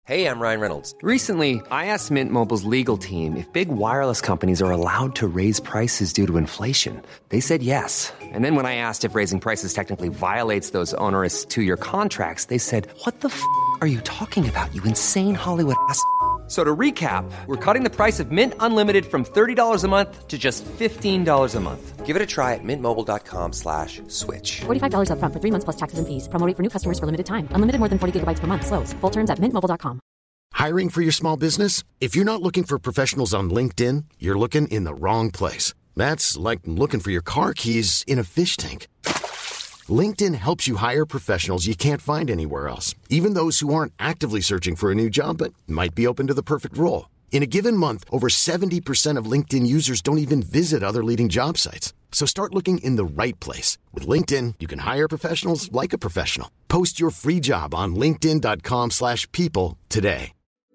Hey, I'm Ryan Reynolds. Recently, I asked Mint Mobile's legal team if big wireless companies are allowed to raise prices due to inflation. They said yes. And then when I asked if raising prices technically violates those onerous two-year contracts, they said, "What the f*** are you talking about, you insane Hollywood ass?" So to recap, we're cutting the price of Mint Unlimited from $30 a month to just $15 a month. Give it a try at mintmobile.com/switch. $45 up front for 3 months plus taxes and fees. Promo rate for new customers for limited time. Unlimited more than 40 gigabytes per month. Slows full terms at mintmobile.com. Hiring for your small business? If you're not looking for professionals on LinkedIn, you're looking in the wrong place. That's like looking for your car keys in a fish tank. LinkedIn helps you hire professionals you can't find anywhere else, even those who aren't actively searching for a new job but might be open to the perfect role. In a given month, over 70% of LinkedIn users don't even visit other leading job sites. So start looking in the right place. With LinkedIn, you can hire professionals like a professional. Post your free job on linkedin.com/people today.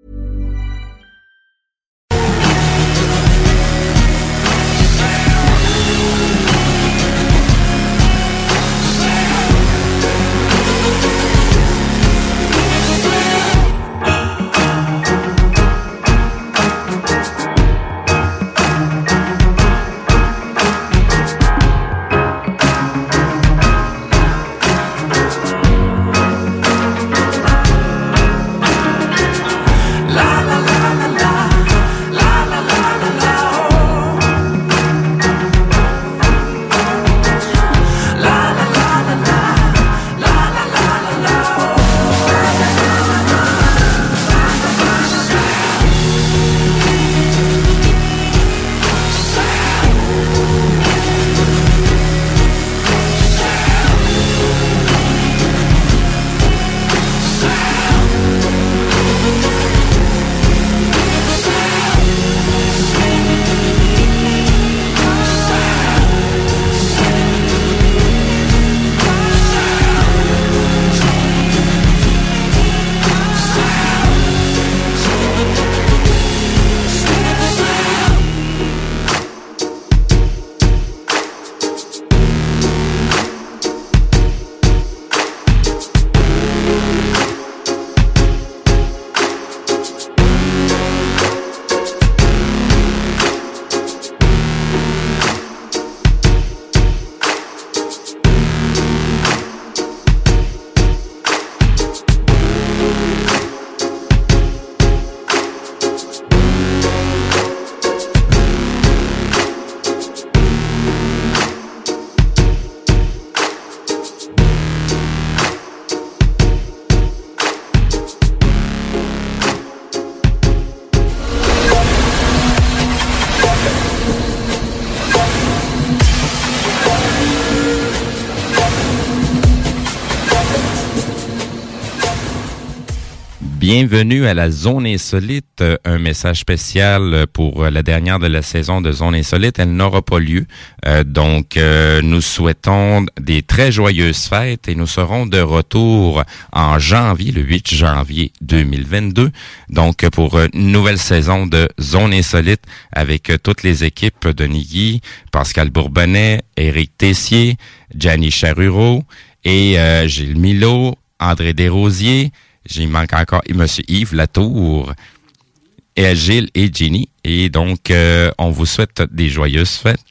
Bienvenue à la Zone Insolite, un message spécial pour la dernière de la saison de Zone Insolite. Elle n'aura pas lieu, donc nous souhaitons des très joyeuses fêtes et nous serons de retour en janvier, le 8 janvier 2022, donc pour une nouvelle saison de Zone Insolite avec toutes les équipes de Nigui, Pascal Bourbonnais, Éric Tessier, Gianni Charureau et Gilles Milot, André Desrosiers. J'y manque encore Monsieur Yves Latour, et Gilles et Jenny. Et donc, on vous souhaite des joyeuses fêtes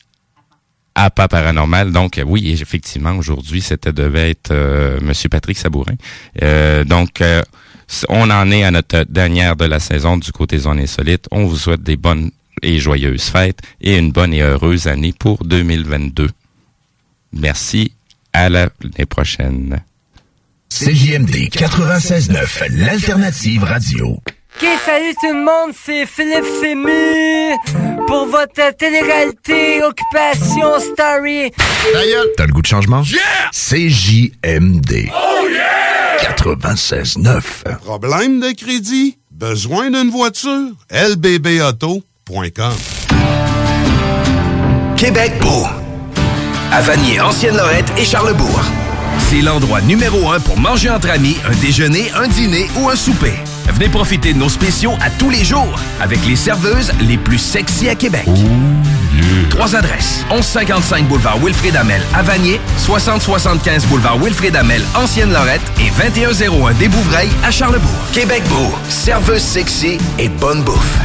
à Pas Paranormal. Donc, oui, effectivement, aujourd'hui, devait être Monsieur Patrick Sabourin. Donc, on en est à notre dernière de la saison du côté Zone Insolite. On vous souhaite des bonnes et joyeuses fêtes et une bonne et heureuse année pour 2022. Merci, à l'année prochaine. CJMD 96.9, l'alternative radio. Ok, salut tout le monde, c'est Philippe Fému pour votre télé-réalité Occupation Story. D'ailleurs, t'as le goût de changement? Yeah! CJMD. Oh yeah! 96.9. Problème de crédit? Besoin d'une voiture? lbbauto.com. Québec beau. À Vanier, Ancienne-Lorette et Charlesbourg. C'est l'endroit numéro 1 pour manger entre amis, un déjeuner, un dîner ou un souper. Venez profiter de nos spéciaux à tous les jours avec les serveuses les plus sexy à Québec. 3 adresses. 1155 boulevard Wilfrid Hamel à Vanier, 6075 boulevard Wilfrid Hamel, Ancienne-Lorette et 2101 des Bouvrailles à Charlebourg. Québec Beau, serveuse sexy et bonne bouffe.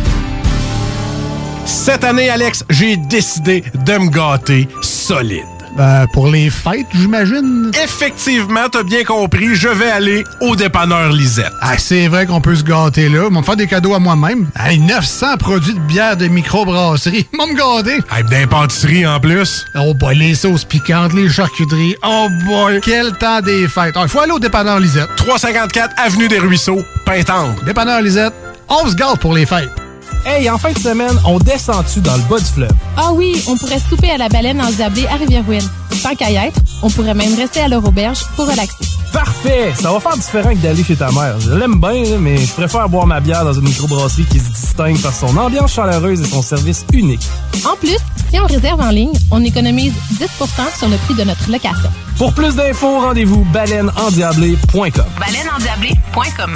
Cette année, Alex, j'ai décidé de me gâter solide. Pour les fêtes, j'imagine? Effectivement, t'as bien compris, je vais aller au dépanneur Lisette. Ah, c'est vrai qu'on peut se gâter là. Ils vont me faire des cadeaux à moi-même. Hey, 900 produits de bière de microbrasserie. Ils vont me gâter. Hey, d'impantisserie en plus. Oh boy, les sauces piquantes, les charcuteries. Oh boy, quel temps des fêtes. Il faut aller au dépanneur Lisette. 354 Avenue des Ruisseaux, Pintendre. Dépanneur Lisette, on se gâte pour les fêtes. Hey, en fin de semaine, on descend-tu dans le bas du fleuve? Ah oui, on pourrait souper à la Baleine endiablée à Rivière-Ouine. Tant qu'à y être, on pourrait même rester à leur auberge pour relaxer. Parfait! Ça va faire différent que d'aller chez ta mère. Je l'aime bien, mais je préfère boire ma bière dans une microbrasserie qui se distingue par son ambiance chaleureuse et son service unique. En plus, si on réserve en ligne, on économise 10% sur le prix de notre location. Pour plus d'infos, rendez-vous baleineendiablée.com. baleineendiablée.com.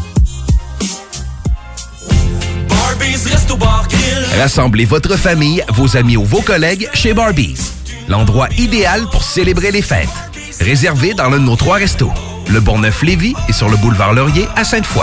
Rassemblez votre famille, vos amis ou vos collègues chez Barbies. L'endroit idéal pour célébrer les fêtes. Réservé dans l'un de nos 3 restos. Le Bonneuf-Lévis et sur le boulevard Laurier à Sainte-Foy.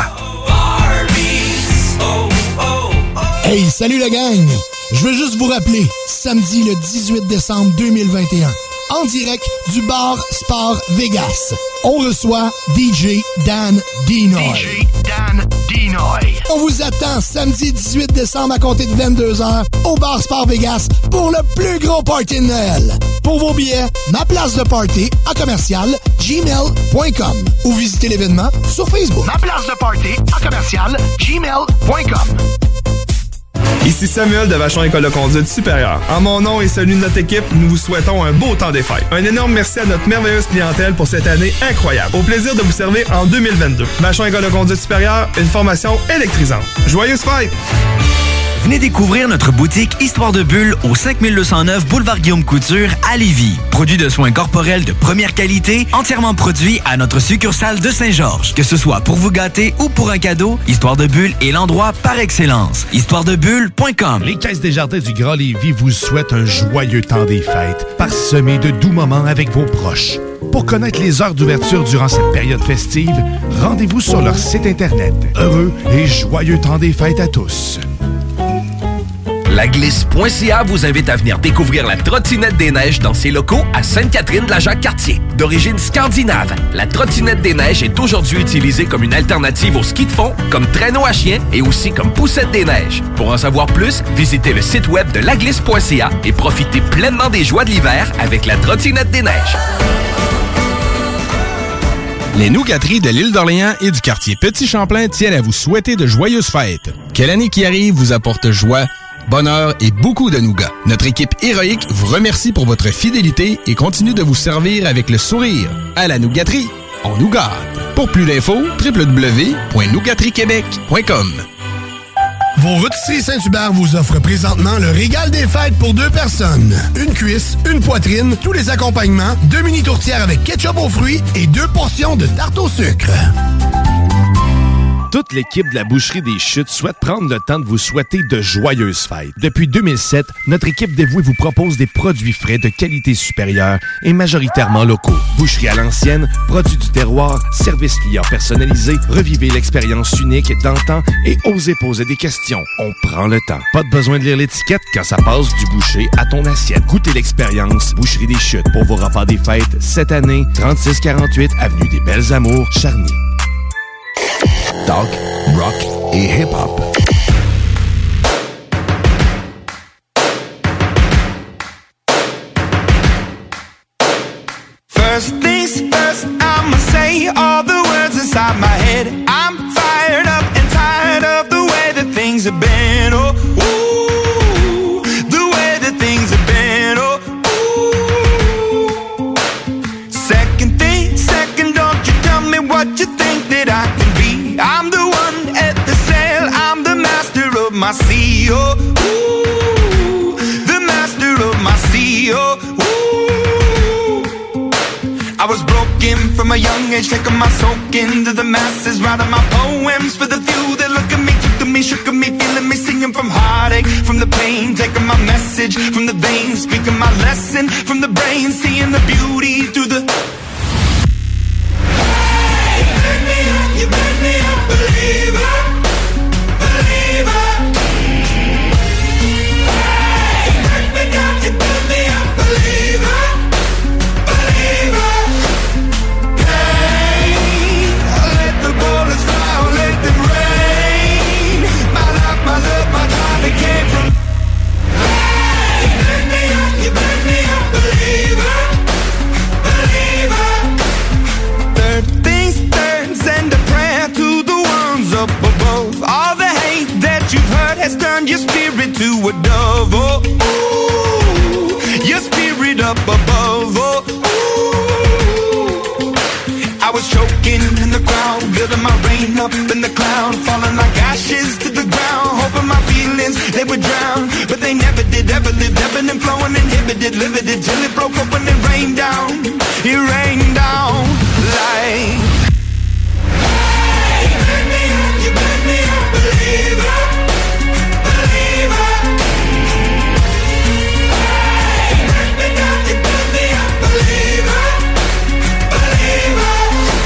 Hey, salut la gang! Je veux juste vous rappeler, samedi le 18 décembre 2021, en direct du bar Sport Vegas, on reçoit DJ Dan Dinoy. On vous attend samedi 18 décembre à compter de 22h au bar Sport Vegas pour le plus gros party de Noël. Pour vos billets, ma place de party à commercial gmail.com ou visitez l'événement sur Facebook. Ma place de party à commercial gmail.com. Ici Samuel de Vachon École de conduite supérieure. En mon nom et celui de notre équipe, nous vous souhaitons un beau temps des fêtes. Un énorme merci à notre merveilleuse clientèle pour cette année incroyable. Au plaisir de vous servir en 2022. Vachon École de conduite supérieure, une formation électrisante. Joyeuses fêtes! Venez découvrir notre boutique Histoire de Bulle au 5209 Boulevard Guillaume Couture à Lévis. Produit de soins corporels de première qualité, entièrement produit à notre succursale de Saint-Georges. Que ce soit pour vous gâter ou pour un cadeau, Histoire de Bulle est l'endroit par excellence. Histoiredebulle.com. Les Caisses Desjardins du Grand Lévis vous souhaitent un joyeux temps des fêtes, parsemé de doux moments avec vos proches. Pour connaître les heures d'ouverture durant cette période festive, rendez-vous sur leur site Internet. Heureux et joyeux temps des fêtes à tous. Laglisse.ca vous invite à venir découvrir la trottinette des neiges dans ses locaux à Sainte-Catherine-de-la-Jacques-Cartier. D'origine scandinave, la trottinette des neiges est aujourd'hui utilisée comme une alternative au ski de fond, comme traîneau à chien et aussi comme poussette des neiges. Pour en savoir plus, visitez le site web de laglisse.ca et profitez pleinement des joies de l'hiver avec la trottinette des neiges. Les nougateries de l'île d'Orléans et du quartier Petit-Champlain tiennent à vous souhaiter de joyeuses fêtes. Que l'année qui arrive vous apporte joie, bonheur et beaucoup de nougats. Notre équipe héroïque vous remercie pour votre fidélité et continue de vous servir avec le sourire. À la nougaterie, on nous gâte. Pour plus d'infos, www.nougateriequebec.com. Vos rôtisseries Saint-Hubert vous offrent présentement le régal des fêtes pour 2 personnes. Une cuisse, une poitrine, tous les accompagnements, 2 mini tourtières avec ketchup aux fruits et 2 portions de tarte au sucre. Toute l'équipe de la Boucherie des Chutes souhaite prendre le temps de vous souhaiter de joyeuses fêtes. Depuis 2007, notre équipe dévouée vous propose des produits frais de qualité supérieure et majoritairement locaux. Boucherie à l'ancienne, produits du terroir, service client personnalisé, revivez l'expérience unique d'antan et osez poser des questions. On prend le temps. Pas de besoin de lire l'étiquette quand ça passe du boucher à ton assiette. Goûtez l'expérience Boucherie des Chutes pour vos repas des fêtes cette année, 3648 Avenue des Belles Amours, Charny. Talk, rock et hip-hop. First things first, I'ma say all the words inside my head. I'm fired up and tired of the way that things have been. Oh, ooh, the way that things have been. Oh, ooh. Second thing, second, don't you tell me what you think that I can be. I'm the one at the sail, I'm the master of my sea. Oh, ooh, the master of my sea. Oh, ooh. I was broken smoking from a young age, taking my soak into the masses, writing my poems for the few that look at me, took to me, shook at me, feeling me, singing from heartache, from the pain, taking my message from the veins, speaking my lesson from the brain, seeing the beauty through the... Hey, you made me a believer, believer. Hey, break me down, you made me a believer, believer. Hey, I let the bullets fly, I let them rain. My life, my love, my time, it came from... Hey, you made me a believer, believer. Third things third, send a prayer to the ones up above. All the hate that you've heard has turned your spirit to a dove. Oh, ooh, your spirit up above. Oh, ooh. I was choking in the crowd, building my rain up in the cloud, falling like ashes to the ground, hoping my feelings, they would drown. But they never did, ever lived, ebbing and flowing, inhibited, limited, till it broke open and rained down. It rained down like... Hey, you made me a believer, believer. Hey, break me down, you made me a believer, believer.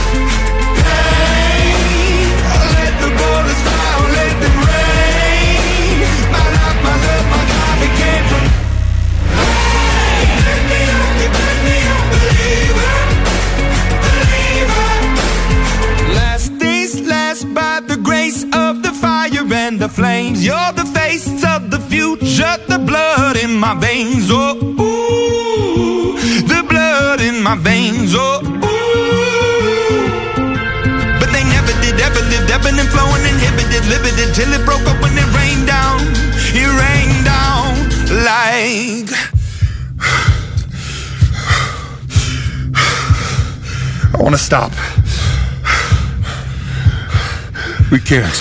Hey, I let the bullets fly, I let them rain. My life, my love, my God, it came from... Hey, you made me a believer, believer. Last days last by the grace of the fire and the flames. You're the face of the future, the blood in my veins. Oh, ooh, the blood in my veins. Oh, ooh. But they never did, ever lived, ebbing and flowing, inhibited, limited, till it broke up when it rained down. It rained down like... I want to stop. We can't.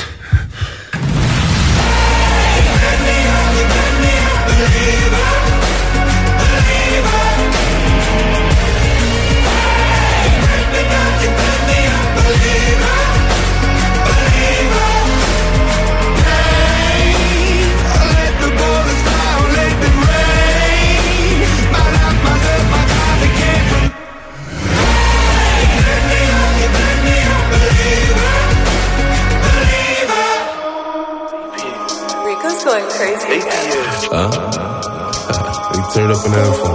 Going crazy. We turned up an alpha.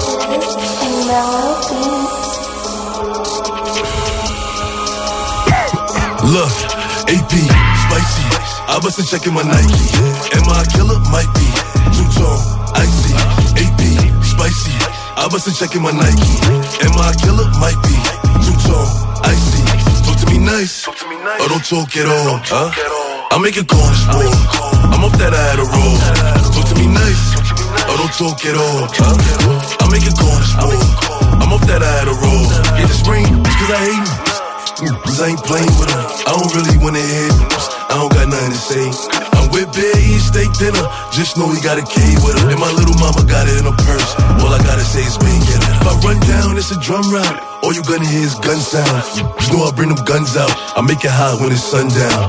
Look, AP, spicy. I wasn't checking my Nike. Am I a killer? Might be. Two-tone, icy. AP, spicy. I wasn't checking my Nike. Am I a killer? Might be. Two-tone, icy. Talk to me nice. Or don't talk at all. I make it go on this war. I'm off that I had a roll. Talk to me nice, or don't talk at all. I make it go on this war. I'm off that I had a roll. Yeah, the spring, it's cause I hate me. Cause I ain't playing with them. I don't really wanna hear them. I don't got nothing to say. I'm with Bear, eating steak dinner. Just know he got a K with her. And my little mama got it in her purse. All I gotta say is bang, get it. If I run down, it's a drum round. All you gonna hear is gun sounds. Just know I bring them guns out. I make it hot when it's sundown.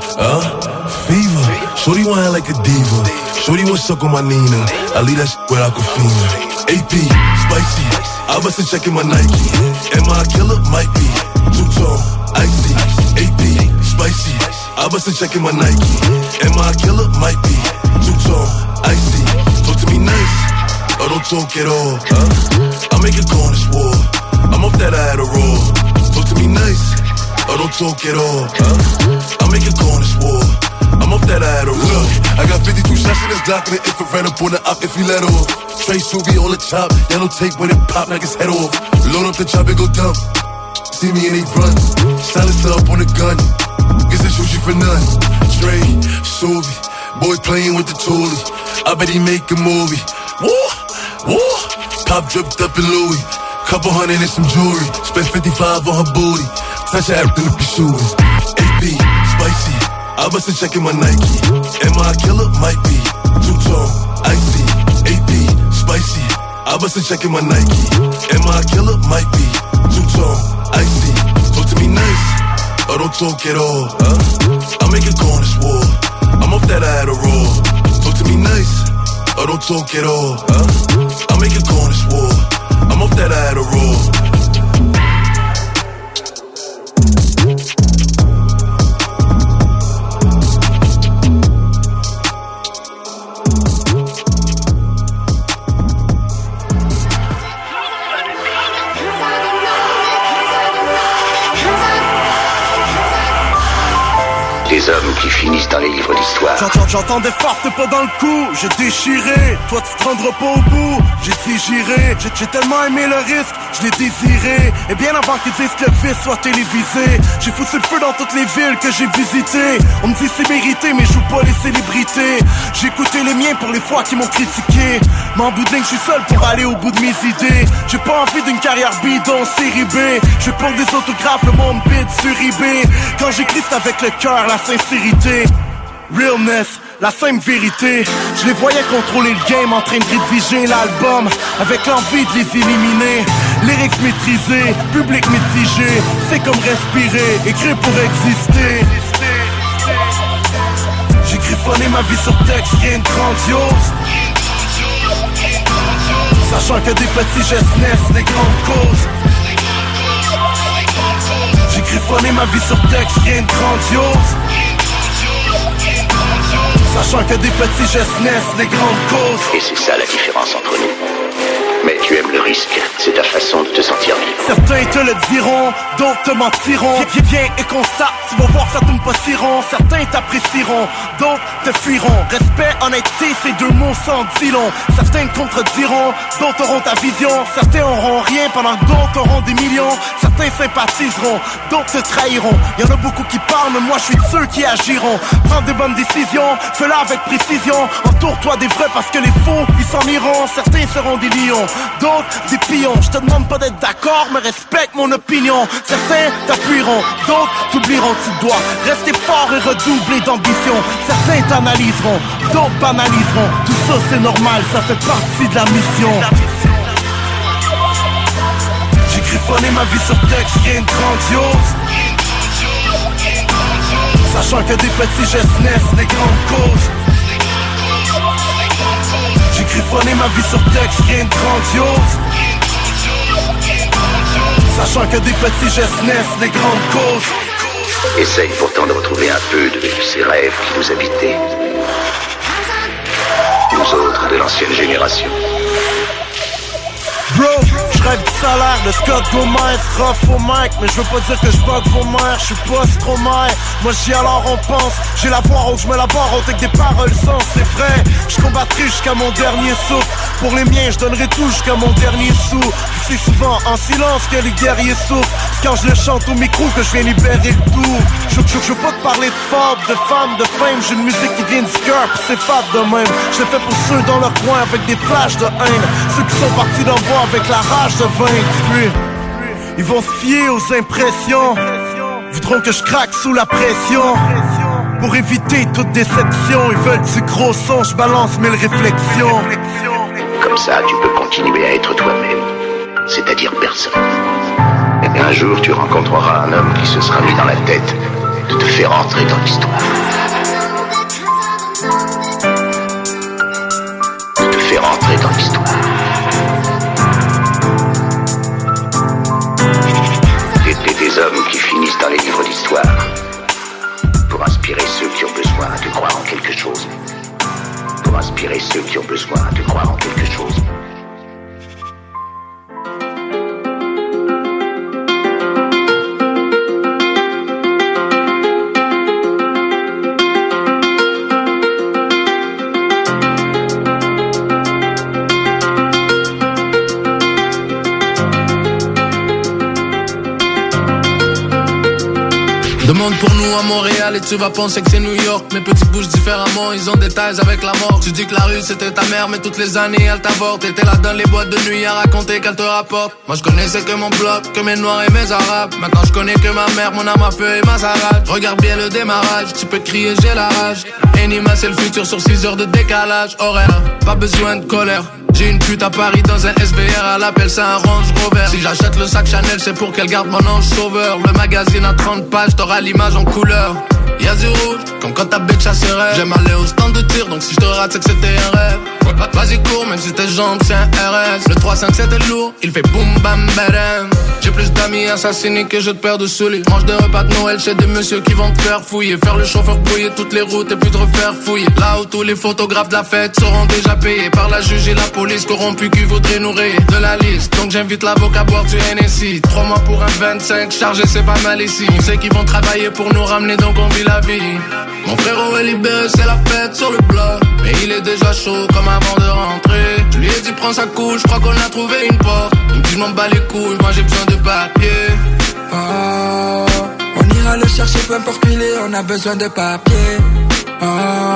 Fever. Shorty want like a diva. Shorty want suck on my Nina. I leave that shit where Aquafina. AP, spicy. I wasn't checking my Nike. Am I a killer? Might be. Two-tone, icy. AP, spicy. I wasn't checking my Nike. Am I a killer? Might be. Two-tone, icy. Talk to me nice, or don't talk at all. I make it go on this war. I'm off that I had a roll. Talk to me nice, or don't talk at all. I make it go on this war. I'm off that I had a roll. Look, I got 52 shots in this Glock and the infrared up on the op if he let off. Trey Suvi on the top, yellow tape when it pop, knock his head off. Load up the chop and go dump. See me and he run. Silencer up on the gun. Guess I shoot you for none. Trey Suvi, boy playing with the toolie. I bet he make a movie. Woo, woo. Pop dripped up in Louis. Couple hundred and some jewelry. Spent 55 on her booty. Touch her after the shooting. AP, spicy. I wasn't checking my Nike. Am I a killer? Might be. Two-tone, icy. AP, spicy. I wasn't checking my Nike. Am I a killer? Might be. Two-tone, icy. to me nice, or don't talk at all. I'll make it go on this war. I'm off that Adderall. Talk to me nice, or don't talk at all. I'll make it go on this war. I'm off that Adderall. Des hommes qui finissent dans les livres d'histoire. J'entends des farces, t'es pas dans le coup. J'ai déchiré, toi tu te rendras pas au bout. J'ai digéré, j'ai tellement aimé le risque, je l'ai désiré. Et bien avant qu'ils disent que le vice soit télévisé, j'ai foutu le feu dans toutes les villes que j'ai visitées. On me dit c'est mérité, mais je joue pas les célébrités. J'ai écouté les miens pour les fois qui m'ont critiqué. Mais en bout de ligne, je suis seul pour aller au bout de mes idées. J'ai pas envie d'une carrière bidon série B. Je veux pas des autographes, le monde bide sur eBay. Quand j'écris c'est avec le cœur, la sincérité, realness, la simple vérité. Je les voyais contrôler le game en train de rédiger l'album avec l'envie de les éliminer. Lyrics maîtrisés, public mitigé, c'est comme respirer, écrire pour exister. J'ai griffonné ma vie sur texte, rien de grandiose, sachant que des petits gestes naissent des grandes causes. J'ai griffonné ma vie sur texte, rien de grandiose, sachant que des petits gestes naissent des grandes causes. Et c'est ça la différence entre nous. Mais tu aimes le risque, c'est ta façon de te sentir vivre. Certains te le diront, d'autres te mentiront. Viens et constate, tu vas voir ça tourne pas si rond. Certains t'apprécieront, d'autres te fuiront. Respect, honnêteté, ces deux mots s'en disent long. Certains te contrediront, d'autres auront ta vision. Certains auront rien pendant que d'autres auront des millions. Certains sympathiseront, d'autres te trahiront. Y'en a beaucoup qui parlent, mais moi je suis de ceux qui agiront. Prends des bonnes décisions, fais-la avec précision. Entoure-toi des vrais parce que les faux, ils s'en iront. Certains seront des lions, d'autres des pions. Je te demande pas d'être d'accord, mais respecte mon opinion. Certains t'appuieront, d'autres t'oublieront. Tu dois rester fort et redoubler d'ambition. Certains t'analyseront, d'autres banaliseront. Tout ça c'est normal, ça fait partie de la mission. J'ai griffonné ma vie sur texte, rien de grandiose, sachant que des petits gestes naissent des grandes causes. J'ai griffonné ma vie sur texte, rien de grandiose, sachant que des petits gestes naissent des grandes causes. Essaye pourtant de retrouver un peu de ces rêves qui nous habitaient. Nous autres de l'ancienne génération. Bro, je rêve du salaire de Scott Gomez, rough au mic, mais je veux pas dire que je bug vos mères, je suis pas Stromae. Moi j'y alors on pense, j'ai la voix haute, je me la barre haute avec des paroles sans, c'est vrai. Je combattrai jusqu'à mon dernier souffle, pour les miens je donnerai tout jusqu'à mon dernier sou. C'est souvent en silence que les guerriers souffrent, c'est quand je le chante au micro que je viens libérer le tout. Je veux pas te parler de fable, de femme, de fame, j'ai une musique qui vient du cœur, pis c'est fade de même. Je le fais pour ceux dans leur coin avec des flashs de haine, ceux qui sont partis d'en bois avec la rage de vaincre. Puis ils vont se fier aux impressions, voudront que je craque sous la pression. Pour éviter toute déception, ils veulent du gros son, je balance 1000 réflexions. Comme ça, tu peux continuer à être toi-même, c'est-à-dire personne. Et un jour, tu rencontreras un homme qui se sera mis dans la tête de te faire entrer dans l'histoire. De te faire entrer dans l'histoire. Des hommes qui finissent dans les livres d'histoire pour inspirer ceux qui ont besoin de croire en quelque chose. Pour inspirer ceux qui ont besoin de croire en quelque chose. Demande pour nous à Montréal et tu vas penser que c'est New York. Mes petits bougent différemment, ils ont des ties avec la mort. Tu dis que la rue c'était ta mère, mais toutes les années elle t'avorte. T'étais là dans les boîtes de nuit à raconter qu'elle te rapporte. Moi je connaissais que mon bloc, que mes noirs et mes arabes. Maintenant je connais que ma mère, mon âme à feu et ma sarade. Regarde bien le démarrage, tu peux crier j'ai la rage. Enima c'est le futur sur 6 heures de décalage horaire. Pas besoin de colère, J'ai une pute à Paris dans un SVR, elle appelle ça un Range Rover. Si j'achète le sac Chanel, c'est pour qu'elle garde mon ange sauveur. Le magazine a 30 pages, t'auras l'image en couleur. Y'a du rouge, comme quand ta bitch a ses rêves. J'aime aller au stand de tir, donc si je te rate, c'est que c'était un rêve. Vas-y cours, même si tes jambes c'est un RS. Le 357 est lourd, il fait boum bam badam. J'ai plus d'amis assassinés que je te perds de souliers. Mange des repas de Noël chez des messieurs qui vont te faire fouiller. Faire le chauffeur brouiller toutes les routes et puis te refaire fouiller. Là où tous les photographes de la fête seront déjà payés par la juge et la police corrompus qui voudraient nous rayer de la liste. Donc j'invite l'avocat à boire du NSI. 3 mois pour un 25, chargé c'est pas mal ici. On sait qu'ils vont travailler pour nous ramener, donc on vit la vie. Mon frérot est libéré, c'est la fête sur le bloc. Mais il est déjà chaud comme avant de rentrer. Je lui ai dit prends sa couche, je crois qu'on a trouvé une porte. Il me dit je m'en bats les couilles, moi j'ai besoin de papier. Oh, on ira le chercher peu importe où il est, on a besoin de papier. Oh,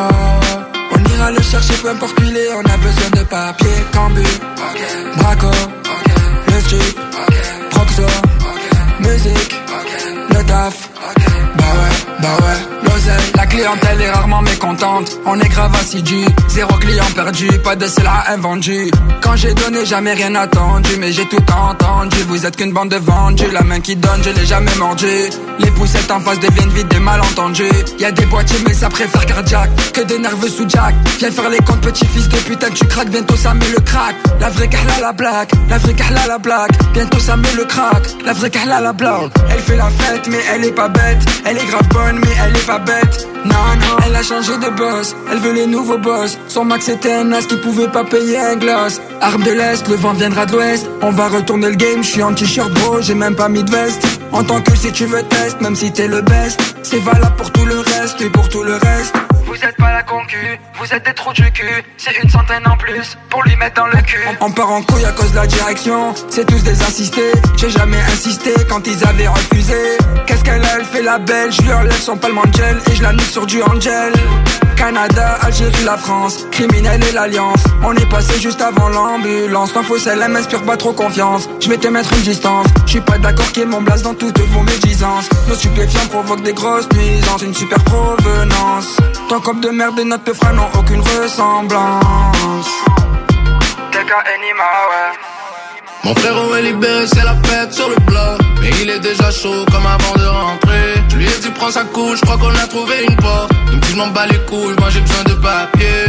on ira le chercher peu importe où il est, on a besoin de papier. Cambu, Braco, le strip, Proxo, musique, le taf. Bah ouais, l'oseille. La clientèle est rarement mécontente. On est grave assidu, 0 client perdu, pas de cela invendu. Quand j'ai donné, jamais rien attendu, mais j'ai tout entendu. Vous êtes qu'une bande de vendus, la main qui donne, je l'ai jamais mordu. Les poussettes en face deviennent vite des malentendus. Y'a des boîtiers mais ça préfère cardiaque que des nerveux sous jack. Viens faire les comptes, petit fils de putain, tu craques, bientôt ça met le crack. La vraie kahla la blague, la vraie kahla la blague. Bientôt ça met le crack, la vraie kahla la blague. Elle fait la fête mais elle est pas bête. Elle est grave bonne mais elle est pas bête. Non, elle a changé de boss, elle veut les nouveaux boss. Son max était un as qui pouvait pas payer un gloss. Arme de l'Est, le vent viendra de l'Ouest. On va retourner le game, je suis en t-shirt bro, j'ai même pas mis de veste. En tant que si tu veux test, même si t'es le best. C'est valable pour tout le reste et pour tout le reste. Vous êtes pas la concu, vous êtes des trous du cul. C'est une centaine en plus pour lui mettre dans le cul. On part en couille à cause de la direction. C'est tous des insistés, j'ai jamais insisté quand ils avaient refusé. Qu'est-ce qu'elle a, elle fait la belle. Je lui enlève son palme en gel et je la nique sur du Angel. Canada, Algérie, la France, criminel et l'alliance. On est passé juste avant l'ambulance. T'en faut celle, elle m'inspire pas trop confiance. Je vais te mettre une distance. Je suis pas d'accord qu'il y ait mon blase dans toutes vos médisances. Nos stupéfiants provoquent des grosses nuisances. Une super provenance. Ton cop de merde et notre peu frais n'ont aucune ressemblance. Quelqu'un anima, ouais. Mon frérot est libéré, c'est la fête sur le bloc. Mais il est déjà chaud comme avant de rentrer. Je lui ai dit prends sa couche, je crois qu'on a trouvé une porte. Il me dit je m'en bats les couilles, moi j'ai besoin de papier.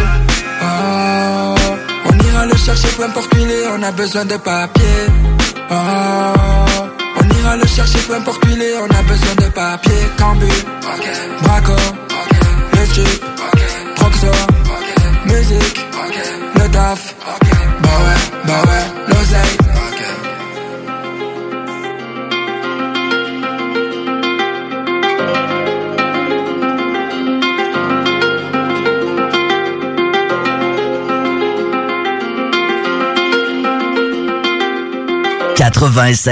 Oh, on ira le chercher peu importe où il est, on a besoin de papier. Oh, on ira le chercher peu importe où il est, on a besoin de papier. Cambu, Braco, le strip, Proxo, musique, le taf. Bah ouais, l'oseille. « 96.9 »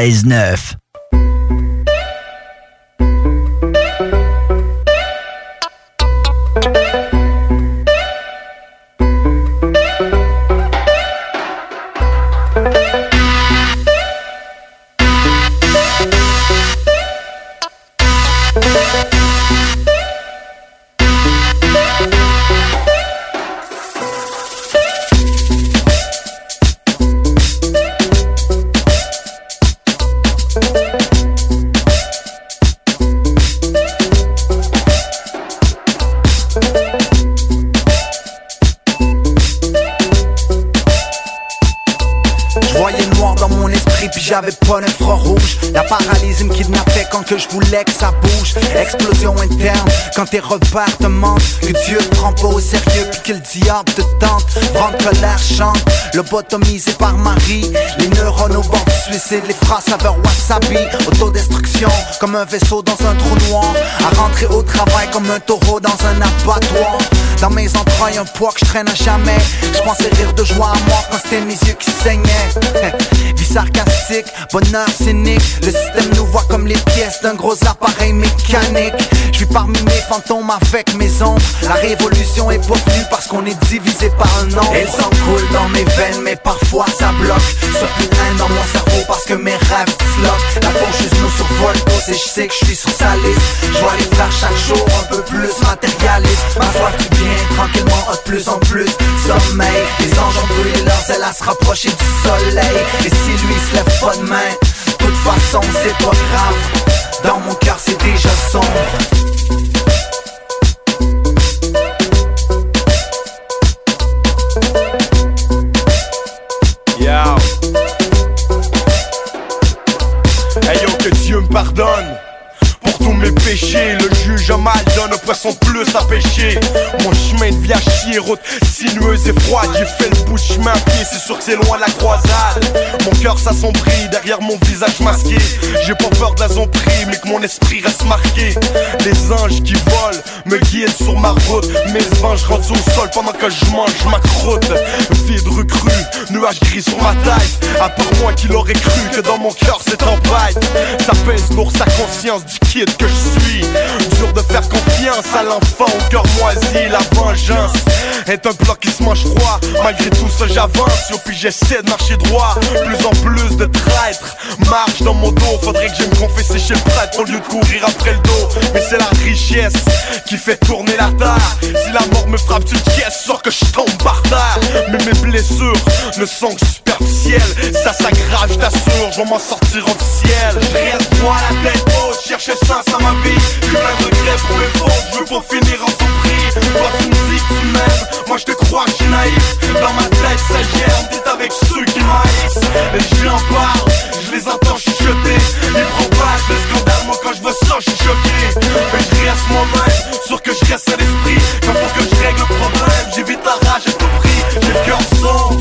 J'avais pas l'infrarouge, la paralysie me kidnappait quand que je voulais que ça bouge. Explosion interne, quand tes repères te mentent, que Dieu te prend pas au sérieux puis que le diable te tente. Vent de colère chante, lobotomisé par Marie. Les neurones au bord du suicide, les phrases saveur wasabi. Autodestruction, comme un vaisseau dans un trou noir. À rentrer au travail comme un taureau dans un abattoir. Dans mes entrailles un poids que je traîne à jamais. Je pensais rire de joie à mort quand c'était mes yeux qui saignaient. Vie sarcastique, bonheur cynique. Le système nous voit comme les pièces d'un gros appareil mécanique. Je vis parmi mes fantômes avec mes ombres. La révolution est pas venue parce qu'on est divisé par un nombre. Elle s'encoule dans mes veines mais parfois ça bloque. Surtout un dans mon cerveau parce que mes rêves disloquent. La faucheuse nous survole tous et je sais que je suis sur sa liste. Je dois les faire chaque jour un peu plus matérialiste. Ma soif du bien vient tranquillement de plus en plus sommeil. Les anges ont brûlé leurs ailes à se rapprocher du soleil. Et si lui se lève pas demain, de toute façon c'est pas grave. Dans mon cœur c'est déjà sombre. Yo. Hey yo, que Dieu me pardonne pour tous mes péchés. Le juge a mal donne un poisson plus à pêcher. Mon chemin de vie à chier, route sinueuse et froide. J'ai fait le bout de chemin à pied, c'est sûr que c'est loin de la croisade. Mon cœur s'assombrit derrière mon visage masqué. J'ai pas peur de la zombrie, mais que mon esprit reste marqué. Les anges qui volent me guident sur ma route. Mes vents je rentre au sol pendant que je mange ma croûte. Vide recrue, nuages gris sur ma tête. À part moi qui l'aurais cru que dans mon cœur c'est tempête. Ça pèse lourd sa conscience du kid que je suis. Dur de faire confiance à l'enfant au cœur moisi. La vengeance est un plat qui se mange froid. Malgré tout ça j'avance, yo, puis j'essaie de marcher droit. Plus en plus de traîtres marche dans mon dos. Faudrait que j'aille me confesser chez le prêtre au lieu de courir après le dos. Mais c'est la richesse qui fait tourner la terre. Si la mort me frappe d'une pièce, sors que je tombe par terre. Mais mes blessures ne sont que superficielles. Ça s'aggrave, je t'assure, je vais m'en sortir officiel. Je reste moi la tête haute, cherche le sens à ma vie. J'ai plein de regrets pour mes fautes, je veux pour finir en surprise. Toi tu me dis que tu m'aimes, moi je te crois que je suis naïf. Dans ma tête ça germe, t'es avec ceux qui m'haïssent. Et j'en parle, je les entends chuchoter. Ils propagent le scandale, moi quand je vois ça je suis choqué. Mais je reste moi-même, sûr que je reste à l'esprit. Quand faut que je règle le problème, j'évite la rage à tout prix. J'ai le cœur sombre.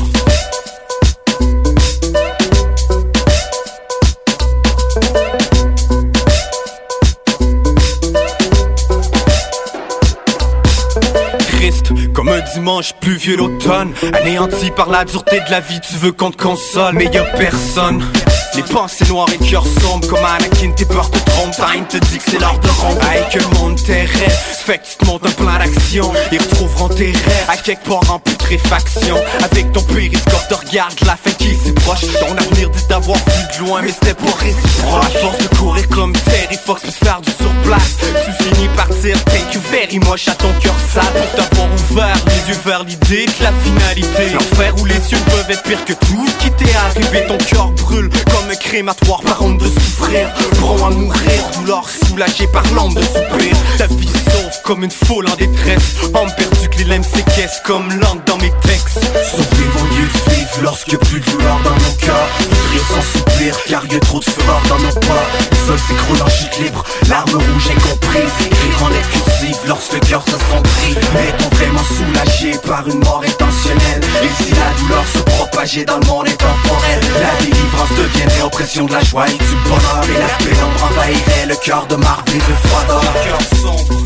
Comme un dimanche pluvieux l'automne, anéanti par la dureté de la vie, tu veux qu'on te console, mais y'a personne. Les pensées noires et le cœur sombre, comme Anakin, tes peurs te trompent. Time te dit que c'est l'heure de rompre. Hey, que le monde terrestre, fait que tu te montes un plan d'action. Ils retrouveront tes rêves à quelque part en putréfaction. Avec ton périscope, te regarde la fin qui s'est proche. Ton avenir dit d'avoir vu de loin, mais c'était pas réciproque. À force de courir comme Terry Fox, puis faire du surplace, tu finis par dire thank you very much à ton cœur sale. Pour t'avoir ouvert les yeux vers l'idée de la finalité. L'enfer où les cieux peuvent être pire que tout ce qui t'est arrivé. Ton cœur brûle comme un crématoire par honte de souffrir. Prends à mourir, douleur soulagée par l'ombre de soupir. Ta vie sauve comme une foule en détresse. Homme perdu que les lames séquestrent comme langue dans mes textes. Sauver mon lieu de vivre lorsque plus de douleur dans mon cœur. Rire sans soupir car y a trop de fureur dans nos pas. Le sol s'écroule en chute libre, l'arme rouge incomprise. Écrire en lettres cursives lorsque le cœur s'assombrit. Est-on vraiment soulagé par une mort intentionnelle? Et si la douleur se propageait dans le monde intemporel, la délivrance deviendrait oppression de la joie et du bonheur. Et la pénombre envahirait le cœur de marbre et de froideur. Le cœur sombre.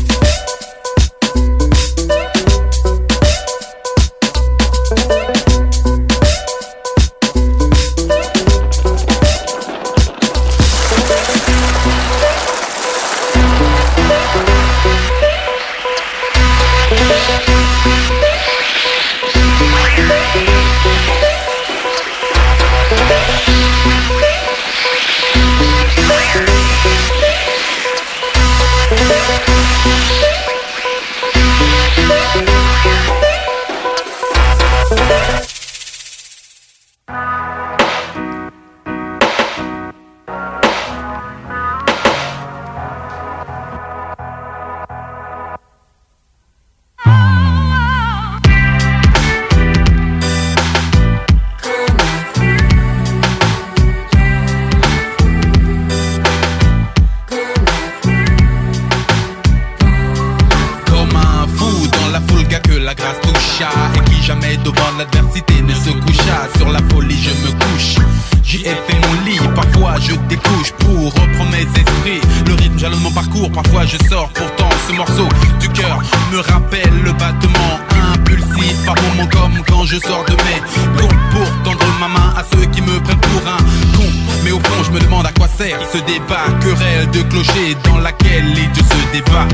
Parfois je sors, pourtant ce morceau du cœur me rappelle le battement impulsif par moments comme quand je sors de mes gonds pour tendre ma main à ceux qui me prennent pour un con. Mais au fond je me demande à quoi sert ce débat, querelle de clocher dans laquelle les dieux se débattent.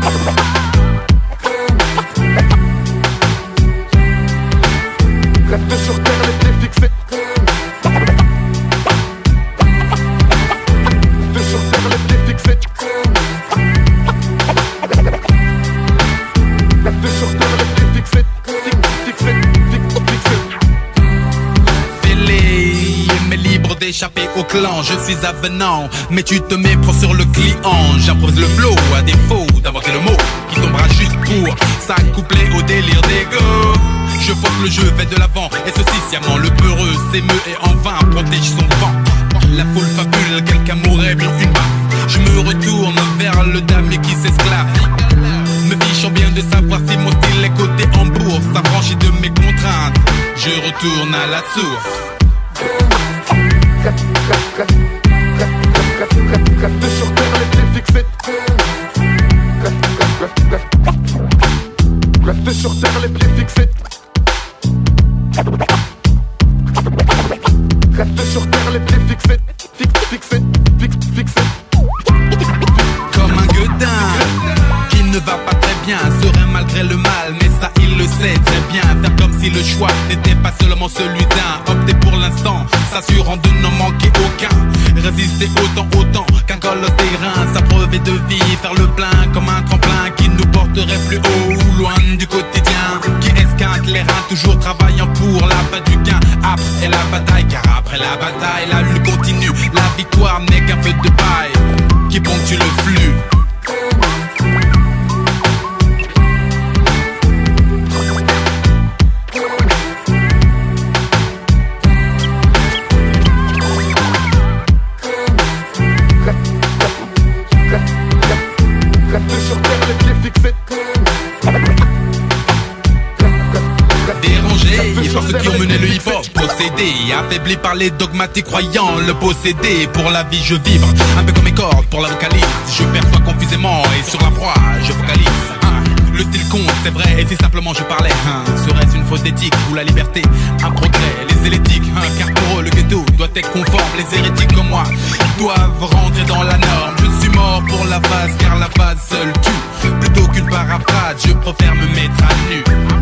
Reste sur terre, les pieds fixés. Reste sur terre, les pieds fixés. Reste sur terre les pieds fixés. Mais libre d'échapper au clan, je suis avenant, mais tu te méprends sur le client. J'improvise le flow à défaut d'inventer le mot qui tombera juste pour s'accoupler au délire d'ego. Je force le jeu, vais de l'avant, et ceci sciemment le peureux s'émeut et en vain protège son vent. La foule fabule, quelqu'un mourrait bien une baffe. Je me retourne vers le damier qui s'esclave, me fichant bien de savoir si mon style est coté en bourse. S'affranchit de mes contraintes, je retourne à la source. Reste sur terre les pieds fixés. Reste sur terre les pieds fixés. Reste sur terre les pieds fixés. Fixés. Comme un gueudin qui ne va pas très bien, serait malgré le mal, mais ça il le sait très bien. Faire comme si le choix n'était pas seulement celui d'un. Opter pour l'instant, s'assurant de n'en manquer aucun. Résister autant qu'un colosse d'airain. S'abreuver de vie, faire le plein comme un tremplin qui nous porterait plus haut ou loin du quotidien. Qui esquinte les reins, toujours travaillant pour la fin du gain. Après la bataille, car après la bataille, la lutte continue. La victoire n'est qu'un feu de paille qui ponctue le flux. Ceux qui ont mené le hip-hop, possédé, affaibli par les dogmatiques croyants, le possédé, pour la vie je vibre, un peu comme mes cordes pour la vocalise, je perçois confusément et sur la proie je focalise. Le style compte, c'est vrai, et si simplement je parlais, serait-ce une faute d'éthique ou la liberté, un progrès, les zélétiques, car pour eux le ghetto doit être conforme, les hérétiques comme moi doivent rentrer dans la norme. Je suis mort pour la phase, car la phase seule tue, plutôt qu'une paraphrase, je préfère me mettre à nu.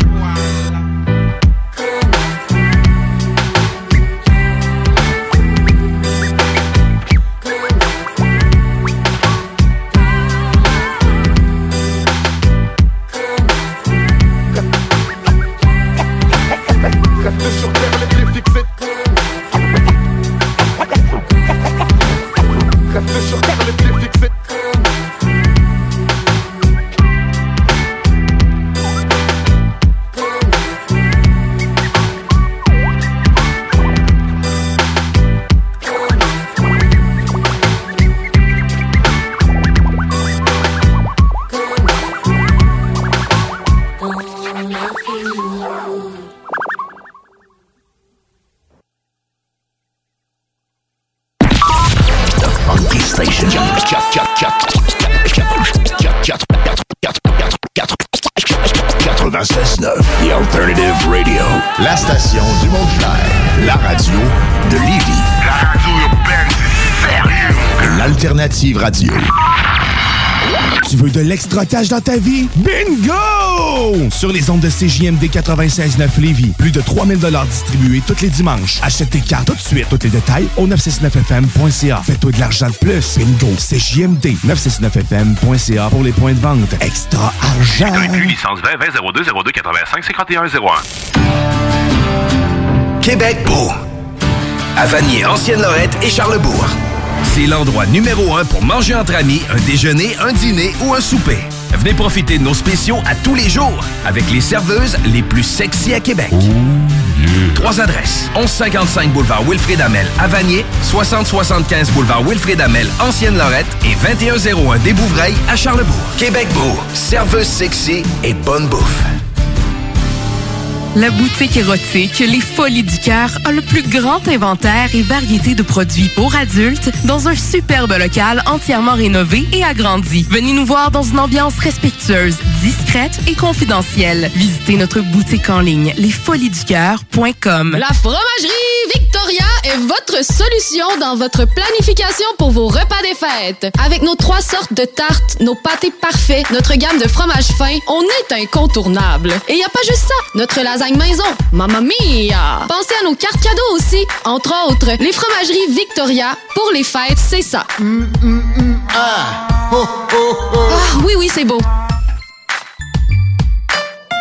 The Alternative Radio. La station du Mont-Clair. La radio de Lévis. La radio urbaine, c'est sérieux. L'Alternative Radio. Tu veux de l'extra cash dans ta vie? Bingo! Sur les ondes de CJMD 96.9 Lévis, plus de 3000 $ distribués tous les dimanches. Achète tes cartes tout de suite. Tous les détails au 969fm.ca. Fais-toi de l'argent de plus. Bingo! CJMD 969fm.ca pour les points de vente. Extra argent! Licence 20 02 02 85 51 01. Québec beau. À Vanier, Ancienne-Lorette et Charlebourg. C'est l'endroit numéro 1 pour manger entre amis, un déjeuner, un dîner ou un souper. Venez profiter de nos spéciaux à tous les jours avec les serveuses les plus sexy à Québec. Oh yeah. 3 adresses. 1155 boulevard Wilfrid Hamel à Vanier, 6075 boulevard Wilfrid Hamel, Ancienne-Lorette et 2101 des Bouvrailles à Charlebourg. Québec beau. Serveuse sexy et bonne bouffe. La boutique érotique Les Folies du Cœur a le plus grand inventaire et variété de produits pour adultes dans un superbe local entièrement rénové et agrandi. Venez nous voir dans une ambiance respectueuse, discrète et confidentielle. Visitez notre boutique en ligne lesfoliesducoeur.com. La fromagerie Victoria est votre solution dans votre planification pour vos repas des fêtes. Avec nos 3 sortes de tartes, nos pâtés parfaits, notre gamme de fromages fins, on est incontournable. Et il n'y a pas juste ça, notre lasagne maison, mamma mia! Pensez à nos cartes cadeaux aussi. Entre autres, les fromageries Victoria, pour les fêtes, c'est ça. Ah! Oh, oh, oh. Ah, oui, c'est beau.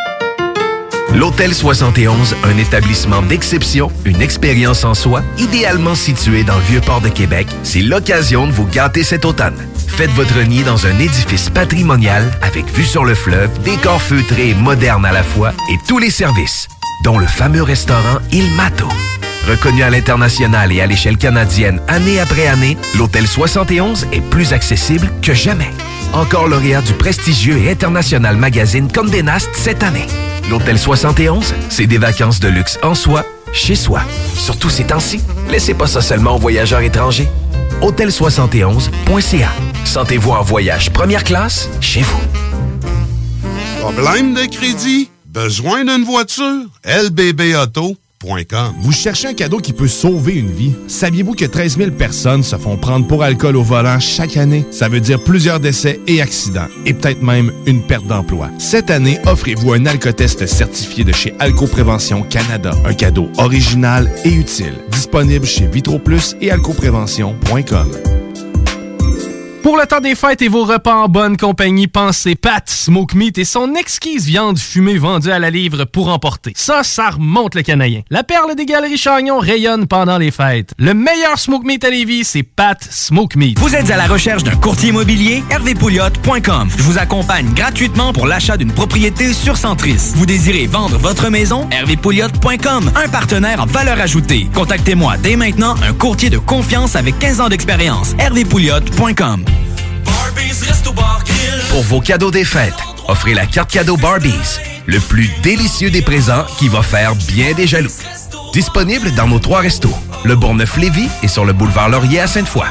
L'Hôtel 71, un établissement d'exception, une expérience en soi, idéalement situé dans le Vieux-Port de Québec, c'est l'occasion de vous gâter cet automne. Faites votre nid dans un édifice patrimonial avec vue sur le fleuve, décor feutré et moderne à la fois et tous les services, dont le fameux restaurant Il Mato. Reconnu à l'international et à l'échelle canadienne année après année, l'Hôtel 71 est plus accessible que jamais. Encore lauréat du prestigieux et international magazine Condé Nast cette année. L'Hôtel 71, c'est des vacances de luxe en soi, chez soi. Surtout ces temps-ci, laissez pas ça seulement aux voyageurs étrangers. Hôtel71.ca. Sentez-vous en voyage première classe chez vous. Problème de crédit? Besoin d'une voiture? LBBauto.com. Vous cherchez un cadeau qui peut sauver une vie? Saviez-vous que 13 000 personnes se font prendre pour alcool au volant chaque année? Ça veut dire plusieurs décès et accidents, et peut-être même une perte d'emploi. Cette année, offrez-vous un alcotest certifié de chez Alcoprévention Canada. Un cadeau original et utile. Disponible chez VitroPlus et alcoprévention.com. Pour le temps des fêtes et vos repas en bonne compagnie, pensez Pat Smoke Meat et son exquise viande fumée vendue à la livre pour emporter. Ça remonte le canadien. La perle des Galeries Chagnon rayonne pendant les fêtes. Le meilleur Smoke Meat à Lévis, c'est Pat Smoke Meat. Vous êtes à la recherche d'un courtier immobilier? hervépouliotte.com. Je vous accompagne gratuitement pour l'achat d'une propriété sur Centris. Vous désirez vendre votre maison? hervépouliotte.com. Un partenaire en valeur ajoutée. Contactez-moi dès maintenant, un courtier de confiance avec 15 ans d'expérience. hervépouliotte.com. Pour vos cadeaux des fêtes, offrez la carte cadeau Barbies, le plus délicieux des présents qui va faire bien des jaloux. Disponible dans nos 3 restos, le Bourgneuf-Lévis et sur le boulevard Laurier à Sainte-Foy.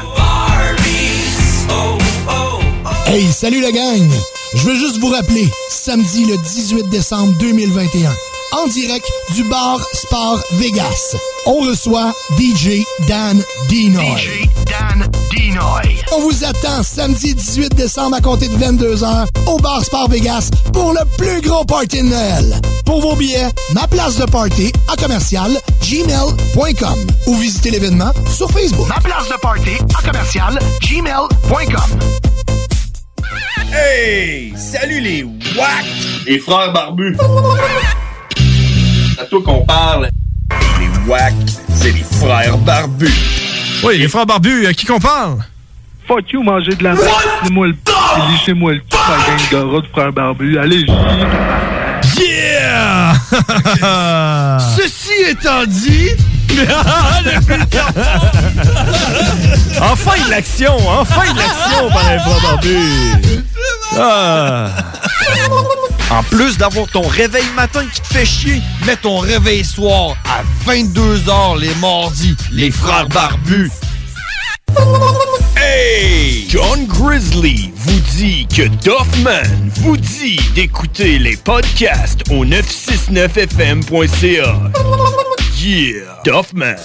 Hey, salut la gang! Je veux juste vous rappeler, samedi le 18 décembre 2021, en direct du bar Sport Vegas, on reçoit DJ Dan Dinoy. On vous attend samedi 18 décembre à compter de 22h au bar Sport Vegas pour le plus gros party de Noël. Pour vos billets, ma place de party à commercial gmail.com ou visitez l'événement sur Facebook. Ma place de party à commercial gmail.com. Hey! Salut les WAC! Les frères barbus! C'est à toi qu'on parle. Les WAC, c'est les frères barbus. Oui, les frères barbus, à qui qu'on parle? Fuck you, manger de la merde. Lissez-moi le lissez-moi le cul, la gang de rats de frères barbus. Allez, Yeah! Ceci étant dit... Enfin de l'action par les frères barbus! Ah. En plus d'avoir ton réveil matin qui te fait chier, mets ton réveil soir à 22h les mardis. Les frères barbus. Hey! John Grizzly vous dit que Duffman vous dit d'écouter les podcasts au 969fm.ca. Yeah! Duffman.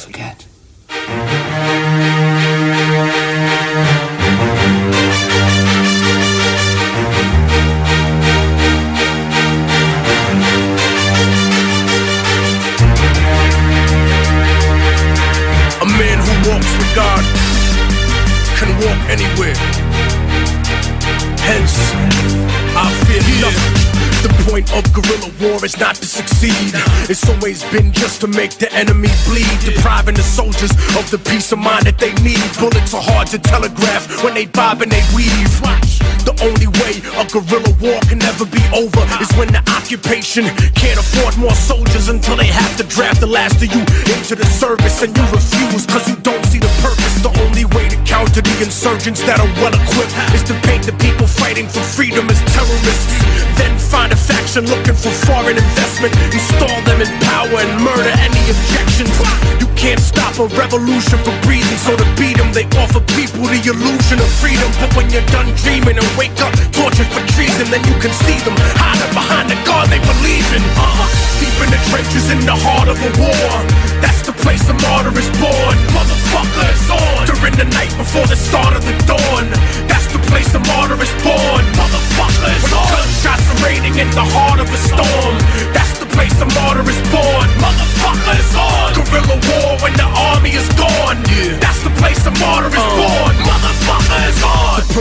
A man who walks with God can walk anywhere. Hence, I fear nothing. The point of guerrilla war is not to succeed. It's always been just to make the enemy bleed, depriving the soldiers of the peace of mind that they need. Bullets are hard to telegraph when they bob and they weave. The only way a guerrilla war can never be over is when the occupation can't afford more soldiers until they have to draft the last of you into the service, and you refuse cause you don't see the purpose. The only way to counter the insurgents that are well equipped is to paint the people fighting for freedom as terrorists. Then find a faction looking for foreign investment, install them in power and murder any objections. You can't stop a revolution for breathing, so to beat them they offer people the illusion of freedom. But when you're done dreaming and wake up tortured for treason, then you can see them hiding behind the God they believe in. Deep in the trenches in the heart of a war, that's the place the martyr is born. Motherfucker is on during the night before the start of the dawn. That's the place the martyr is born. Motherfucker is on. Gunshots are raining in the heart of a storm. That's the place the martyr is born. Motherfucker is on. Guerrilla war when the army is gone. That's the place the martyr is born. Motherfucker is on. The purpose of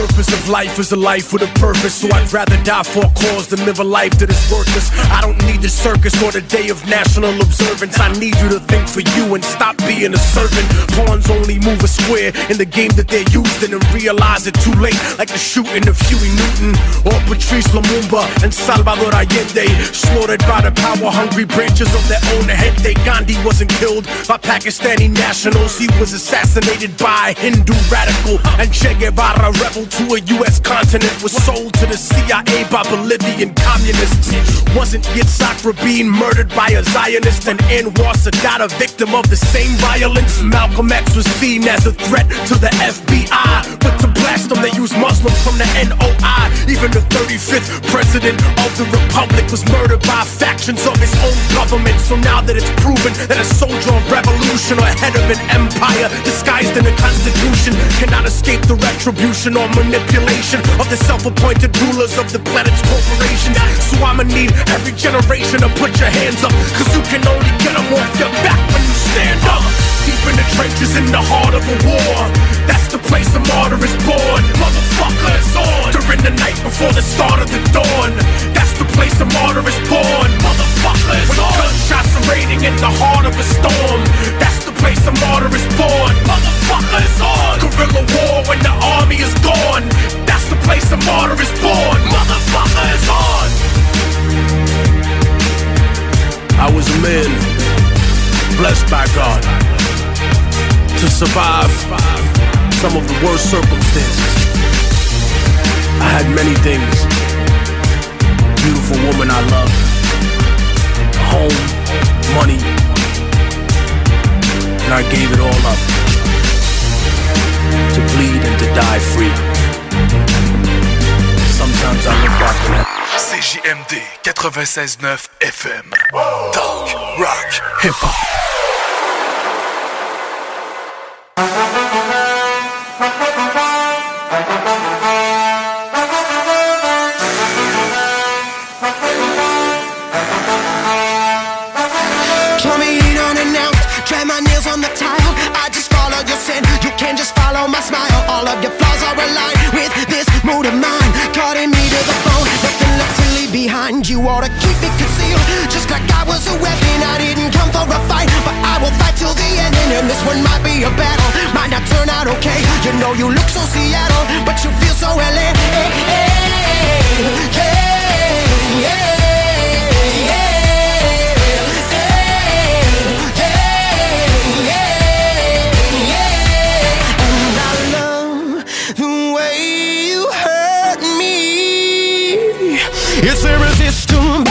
life is a life with a purpose, so I'd rather die for a cause than live a life that is worthless. I don't need the circus or the day of national observance. I need you to think for you and stop being a servant. Pawns only move a square in the game that they're using and realize it too late, like the shooting of Huey Newton or Patrice Lumumba and Salvador Allende, slaughtered by the power-hungry branches of their own gente. Gandhi wasn't killed by Pakistani nationals, he was assassinated by a Hindu radical. And Che Guevara, rebel to a U.S. continent, was sold to the CIA by Bolivian communists. Wasn't Yitzhak Rabin murdered by a Zionist, and Anwar Sadat a victim of the same violence? Malcolm X was seen as a threat to the FBI, but to blast them they used Muslims from the NOI. Even the 35th president of the Republic was murdered by factions of his own government. So now that it's proven that a soldier of revolution or head of an empire disguised in a constitution cannot escape the retribution or manipulation of the self-appointed rulers of the planet's corporations. So I'ma need every generation to put your hands up, cause you can only get them off your back when you stand up. Deep in the trenches in the heart of a war, that's the place the martyr is born. Motherfucker, it's on during the night before the start of the dawn. That's the place the martyr is born. Motherfucker, it's on. When gunshots are raining in the heart of a storm, that's the place the martyr is born. Motherfucker, it's on. Guerrilla war when the army is gone, that's the place the martyr is born. Motherfucker, it's on. I was a man blessed by God to survive some of the worst circumstances. I had many things. Beautiful woman I love, a home, money, and I gave it all up to bleed and to die free. Sometimes I look back on that. CJMD 96.9 FM. Talk, rock, hip-hop. Coming in unannounced, drag my nails on the tile. I just follow your sin, you can just follow my smile. All of your flaws are aligned with this mood of mine, cutting me to the bone, nothing left to leave behind. You ought to keep it concealed, just like I was a weapon. I didn't come for a fight, but I will fight till the end. And this one might be a battle, might not turn out okay. You know you look so Seattle, but you feel so LA. Hey, hey, hey, yeah. It's irresistible.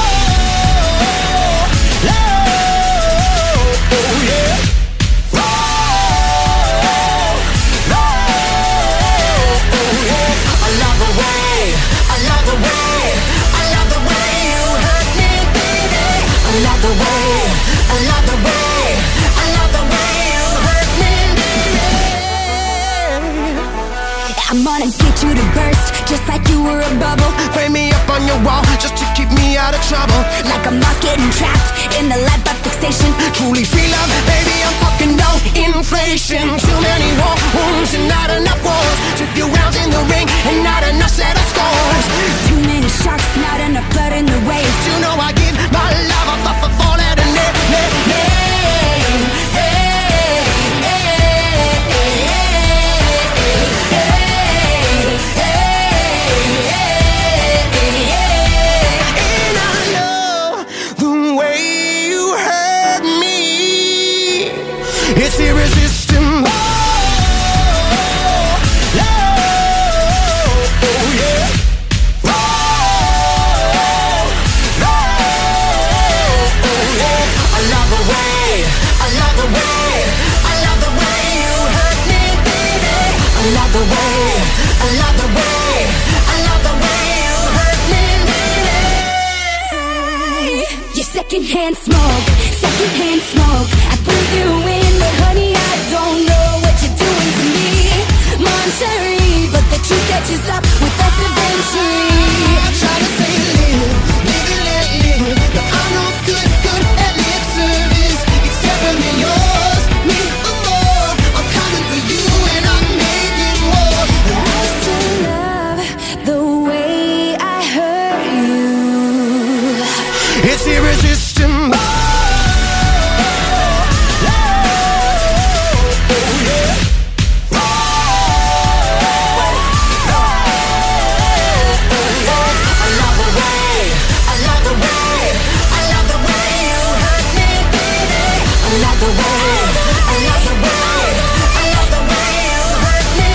I'm gonna get you to burst, just like you were a bubble. Frame me up on your wall, just to keep me out of trouble. Like a moth getting trapped in the light bulb fixation. Truly feel love, baby, I'm talking no inflation. Too many war wounds and not enough wars. Too few rounds in the ring and not enough settled scores. Too many sharks, not enough blood in the waves. You know I give my love a fall at a name. It's irresistible. Secondhand smoke, I put you in, but honey, I don't know what you're doing to me. Monterey, but the truth catches up with us eventually. I try to say live, but I'm no good at lip service, except when you're yours, me more. I'm coming for you and I'm making war. I still love love the way, I love the way, I love the way you hurt me,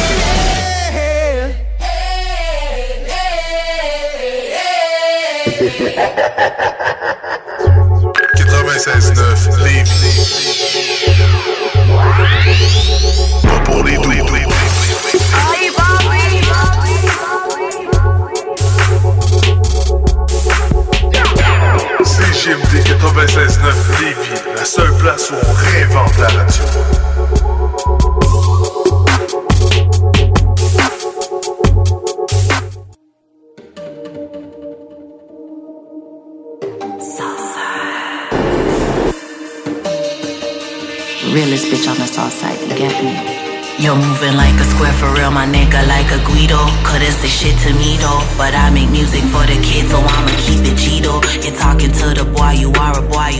Pas pour les doux. CJMD 96.9 Lévis, la seule place où on réinvente la radio. Realest bitch on the south side, you get me? You're moving like a square for real, my nigga, like a Guido. Couldn't say shit to me though, but I make music for the kids, so I'ma keep it Cheeto. You're talking to the boy, you are a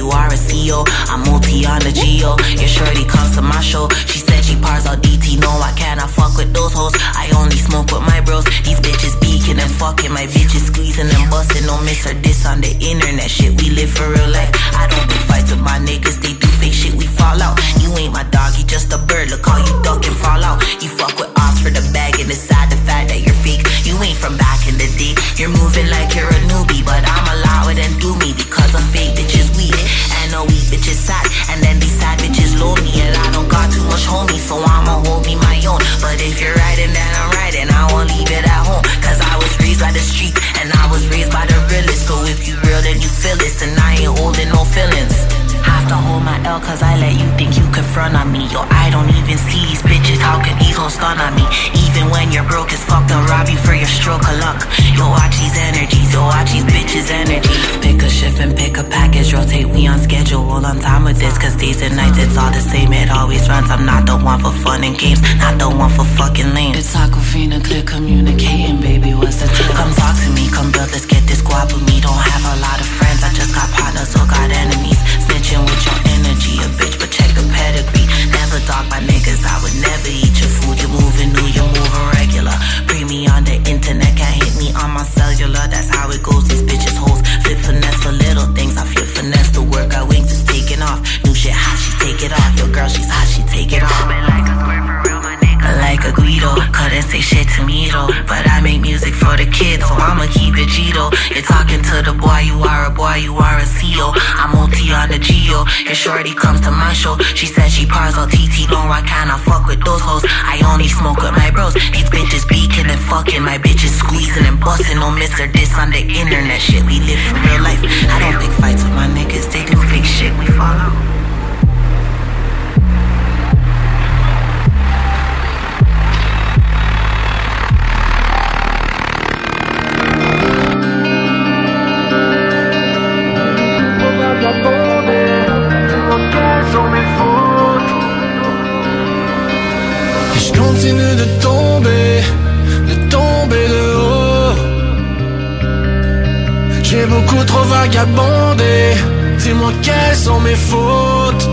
CEO. I'm multi on the Geo. Your shorty comes to my show. She said she pars all DT, no, I cannot fuck with those hoes. I only smoke with my bros. These bitches beaking and fucking, my bitches squeezing and busting. Don't miss her diss on the internet, shit, we live for real life. I don't big fights with my niggas, they do fake shit, we fall out. You ain't my dog, you just a bird, look how you duck and fall out. You fuck with ops for the bag and decide the fact that you're fake. You ain't from back in the day. You're moving like you're a newbie, but I'm allowed and do me because I'm fake bitches weak and no weak bitches sad. And then these sad bitches load me and I don't got too much homie, so I'ma hold me my own. But if you're riding, then I'm riding. I won't leave it at home, cause I was raised by the street and I was raised by the realest. So if you real, then you feel this, and I ain't holding no feelings. Have to hold my L cause I let you think you could front on me. Yo, I don't even see these bitches, how can these hoes stun on me? Even when you're broke as fuck, they'll rob you for your stroke of luck. Yo, watch these energies, yo, watch these bitches' energies. Pick a shift and pick a package, rotate, we on schedule, all on time with this. Cause days and nights, it's all the same, it always runs. I'm not the one for fun and games, not the one for fucking lame. It's Aquafina, clear communicating, baby, what's the deal? Come talk to me, come build, let's get this squad with me. Don't have a lot of friends, I just got partners, so got enemies. Snitching with your energy, a bitch, but check the pedigree. Never talk by niggas, I would never eat your food. You're moving new, you're moving regular. Bring me on the internet, can't hit me on my cellular. That's how it goes, these bitches hoes flip finesse for little things. I flip finesse, the work I wings is taking off. New shit hot, she take it off. Your girl, she's hot, she take it off. Like a Guido, couldn't say shit to me though, but I make music for the kids, so I'ma keep it Gito. You're talking to the boy, you are a CEO. I'm multi on the Geo. Your shorty comes to my show. She said she pars all TT, no, I cannot fuck with those hoes. I only smoke with my bros. These bitches beaking and fucking, my bitches squeezing and busting. Don't miss her diss on the internet, shit, we live for real life. I don't pick fights with my niggas, they do fake shit, we fall out. Je continue de tomber de haut. J'ai beaucoup trop vagabondé. Dis-moi quelles sont mes fautes.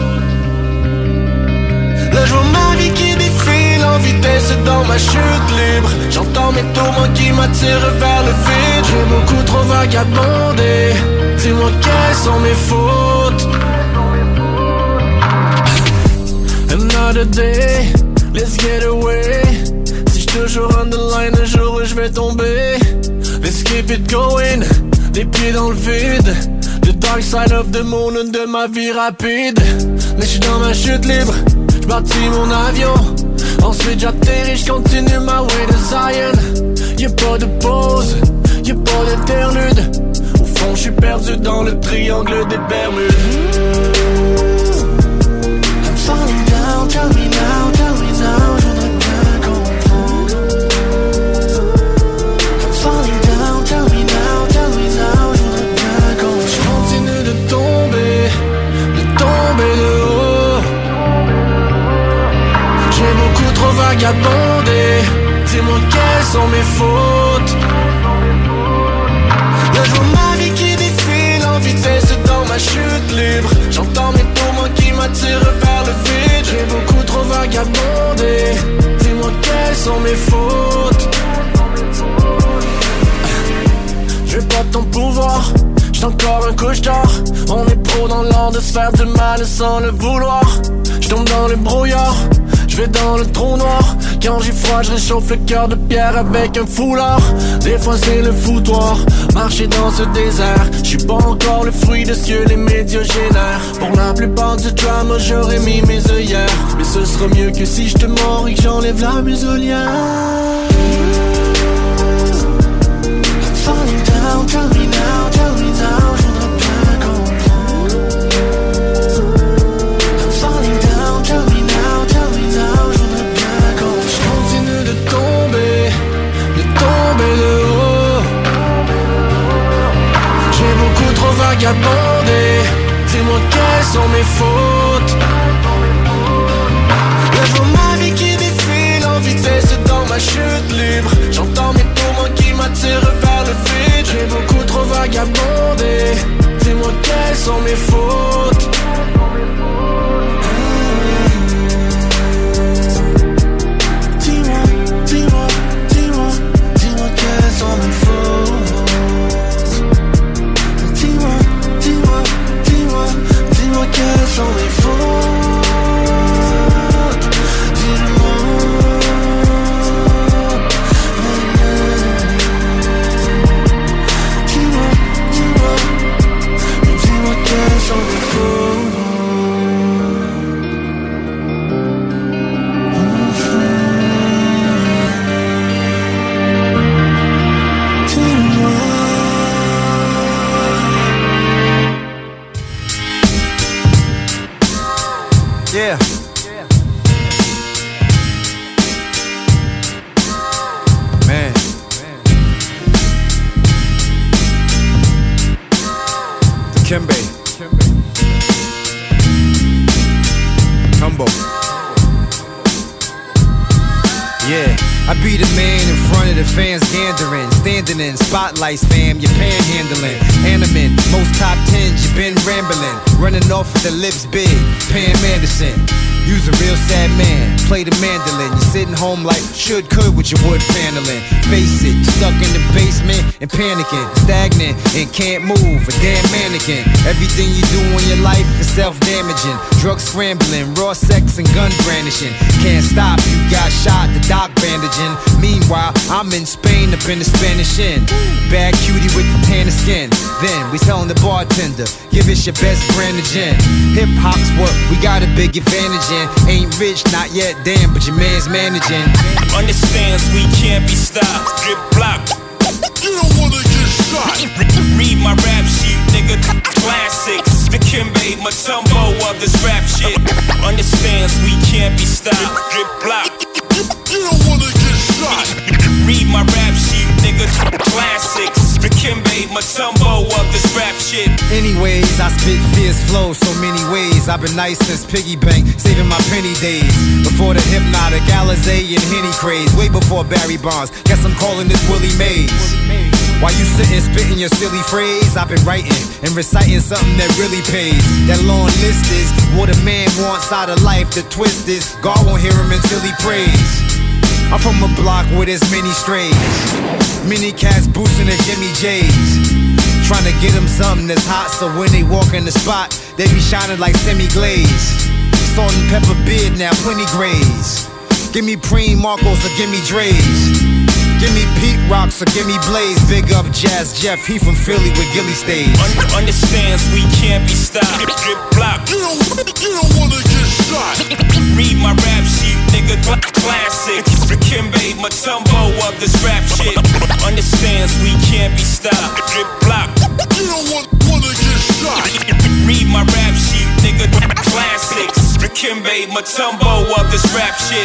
Là je vois ma vie qui défile en vitesse dans ma chute libre. J'entends mes tourments qui m'attirent vers le vide. J'ai beaucoup trop vagabondé. Dis-moi quelles sont mes fautes. Another day, let's get away. Si je toujours on the line, un jour où je vais tomber. Let's keep it going, les pieds dans le vide. The dark side of the moon de ma vie rapide. Mais je suis dans ma chute libre, je bâtis mon avion. Ensuite j'atterris, je continue ma way to Zion. Y'a pas de pause, y'a pas d'interlude. Au fond je suis perdu dans le triangle des Bermudes. I'm falling down, tell me now, je voudrais bien comprendre. I'm falling down, tell me now, je voudrais bien comprendre. Je continue de tomber de haut. J'ai beaucoup trop vagabondé. Dis-moi quelles sont mes fautes. Là je vois ma vie qui défile en vitesse dans ma chute libre. J'entends mes tourments qui m'attirent vers le vide. J'ai beaucoup trop vagabondé. Dis-moi quelles sont mes fautes. J'ai pas ton pouvoir. J'suis encore un couche-tard. On est pro dans l'art de se faire du mal sans le vouloir. J'tombe dans le brouillard, j'vais dans le trou noir. Quand j'ai froid, je réchauffe le cœur de pierre avec un foulard. Des fois c'est le foutoir, marcher dans ce désert. J'suis pas encore le fruit de ce que les médias génèrent. Pour la plupart du drama, j'aurais mis mes œillères. Mais ce sera mieux que si j'te mords et que j'enlève la muselière. Falling down, tell me now, je voudrais bien comprendre. I'm falling down, tell me now, je voudrais bien comprendre. J'continue de tomber de haut. J'ai beaucoup trop vagabondé. Dis-moi quelles sont mes fautes. Je vois ma vie qui défile en vitesse dans ma chute libre. J'entends mes poumons qui m'attirent vers le vide. J'ai beaucoup trop vagabondé. Dis-moi quelles sont mes fautes. Dis-moi quelles sont mes fautes. Dis-moi quelles sont mes fautes. Yeah. Man. Dikembe. Combo. Yeah. I be the man in front of the fans gandering. Standing in spotlights, fam, you're panhandling. Animate, most top 10s, you been rambling. Running off with the lips big, Pam Anderson. You's a real sad man, play the mandolin. You're sitting home like could with your wood paneling. Face it, stuck in the basement and panicking. Stagnant and can't move, a damn mannequin. Everything you do in your life is self-damaging. Drug scrambling, raw sex and gun brandishing. Can't stop, you got shot, the doc bandaging. Meanwhile, I'm in Spain up in the Spanish Inn. Bad cutie with the tan skin. Then we telling the bartender, give us your best brand of gin. Hip hop's what we got a big advantage in. Ain't rich, not yet, damn, but your man's managing. Understands we can't be stopped. Drip block. You don't wanna get shot. Read my rap sheet, nigga. Classics. Dikembe Mutombo of this rap shit. Understands we can't be stopped. Drip block. You don't wanna get shot. Read my rap sheet, nigga. Classics. Dikembe Mutombo of this rap shit. Anyways, I spit fierce flow so many ways. I've been nice since piggy bank, saving my penny days. Before the Hypnotic, Alizé and Henny craze. Way before Barry Bonds. Guess I'm calling this Willie Mays. While you sitting spitting your silly phrase, I've been writing and reciting something that really pays. That long list is what a man wants out of life. The twist is God won't hear him until he prays. I'm from a block with as many strays. Many cats boosting the Jimmy J's. Trying to get them something that's hot so when they walk in the spot, they be shining like semi-glaze. Salt and pepper beard now, plenty grays. Give me Preem Marcos or give me Dre's. Give me Pete Rocks or give me Blaze. Big up Jazz Jeff, he from Philly with Gilly Stage. Understands we can't be stopped. Drip block. You don't wanna get shot. Read my rap sheet, nigga. Classic. Dikembe Mutombo of this rap shit. Understands we can't be stopped. Drip block. You don't wanna get shot. Read my rap sheet, nigga. Classics. Dikembe Mutombo of this rap shit.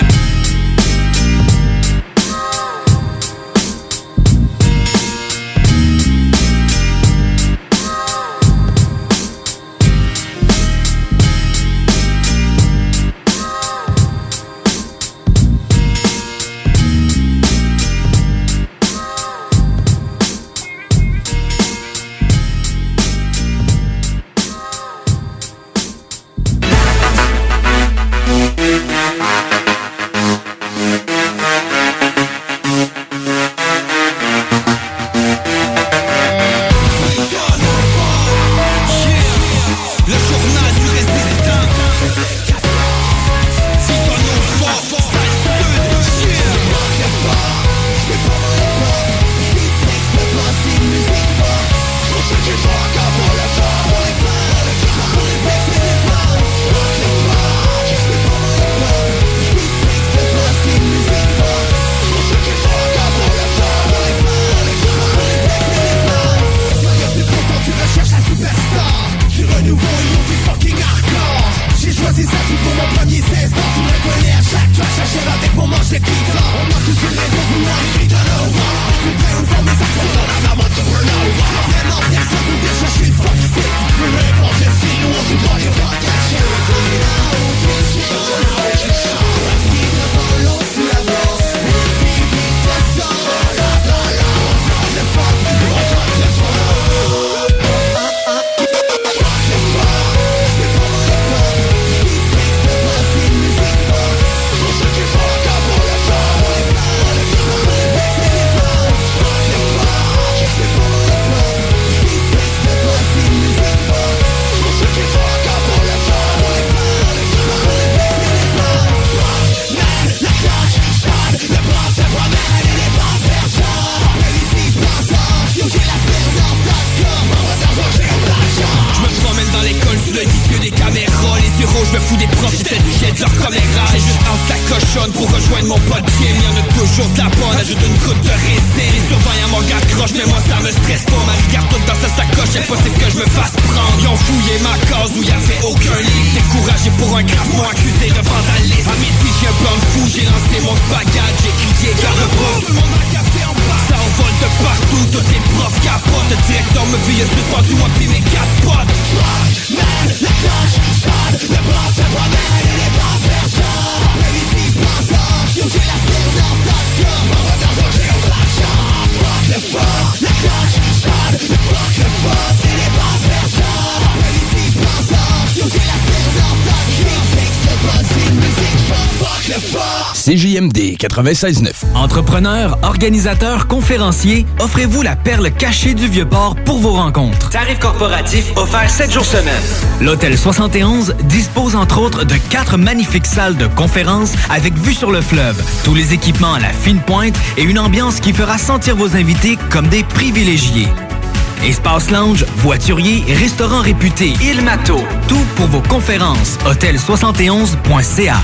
les caméras, les yeux rouges, me fous des profs, j'essaie du jet de leur caméra. J'ai juste entre la cochonne pour rejoindre mon pote Jim. Y'en a toujours de la bonne, ajoute une goutte de raisin. Les surveillants mon gars croche, mais moi ça me stresse pas. Ma regarde toute dans sa sacoche, impossible que je me fasse prendre. Ils ont fouillé ma case où y'avait aucun livre. Découragé pour un grave, m'ont accusé de vandalisme. À midi j'ai un bum fou, j'ai lancé mon spaghetti. J'ai crié car le bout, tout le monde a capté en bas. Ça envole de partout, tous les profs capotent. Le directeur me vit, je suis pendu, moi pis mes 4 potes. Man, la cloche sonne, le blanc se promène et les bonnes personnes. Primitif pensant, j'ai la présentation. On va dans un géo de la chance. Fuck le fuck, la cloche sonne, le fuck le fuck et les bonnes personnes. Primitif pensant, j'ai la présentation. Fixe le buzzing, musique, fuck le fuck. CJMD 96.9. Entrepreneurs, organisateurs, conférenciers, offrez-vous la perle cachée du Vieux-Port pour vos rencontres. Tarif corporatif offert 7 jours semaine. L'Hôtel 71 dispose entre autres de 4 magnifiques salles de conférences avec vue sur le fleuve, tous les équipements à la fine pointe et une ambiance qui fera sentir vos invités comme des privilégiés. Espace lounge, voiturier, restaurant réputé, Il Mato, tout pour vos conférences. Hôtel71.ca.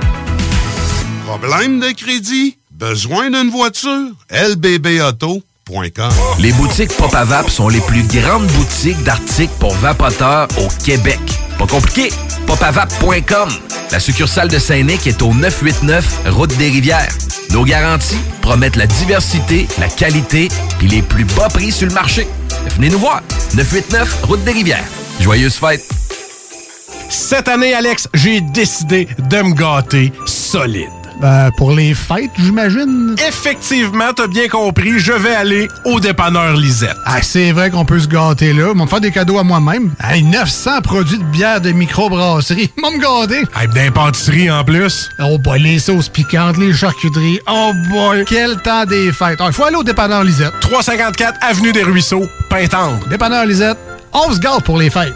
Problème de crédit? Besoin d'une voiture? lbbauto.com. Les boutiques Pop à Vape sont les plus grandes boutiques d'articles pour vapoteurs au Québec. Pas compliqué, popavape.com. La succursale de Saint-Nic est au 989 Route des Rivières. Nos garanties promettent la diversité, la qualité et les plus bas prix sur le marché. Venez nous voir, 989 Route des Rivières. Joyeuses fêtes! Cette année, Alex, j'ai décidé de me gâter solide. Pour les fêtes, j'imagine. Effectivement, t'as bien compris, je vais aller au dépanneur Lisette. Ah, c'est vrai qu'on peut se gâter là. Ils vont me faire des cadeaux à moi-même. Hey, 900 produits de bière de microbrasserie. Ils vont me gâter. Hey, d'impantisserie en plus. Oh boy, les sauces piquantes, les charcuteries. Oh boy, quel temps des fêtes. Il faut aller au dépanneur Lisette. 354 Avenue des Ruisseaux, Pintendre. Dépanneur Lisette, on se gâte pour les fêtes.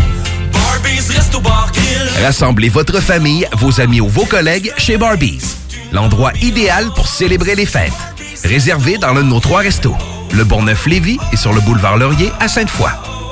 Rassemblez votre famille, vos amis ou vos collègues chez Barbies. L'endroit idéal pour célébrer les fêtes. Réservé dans l'un de nos 3 restos. Le Bourgneuf-Lévis et sur le boulevard Laurier à Sainte-Foy.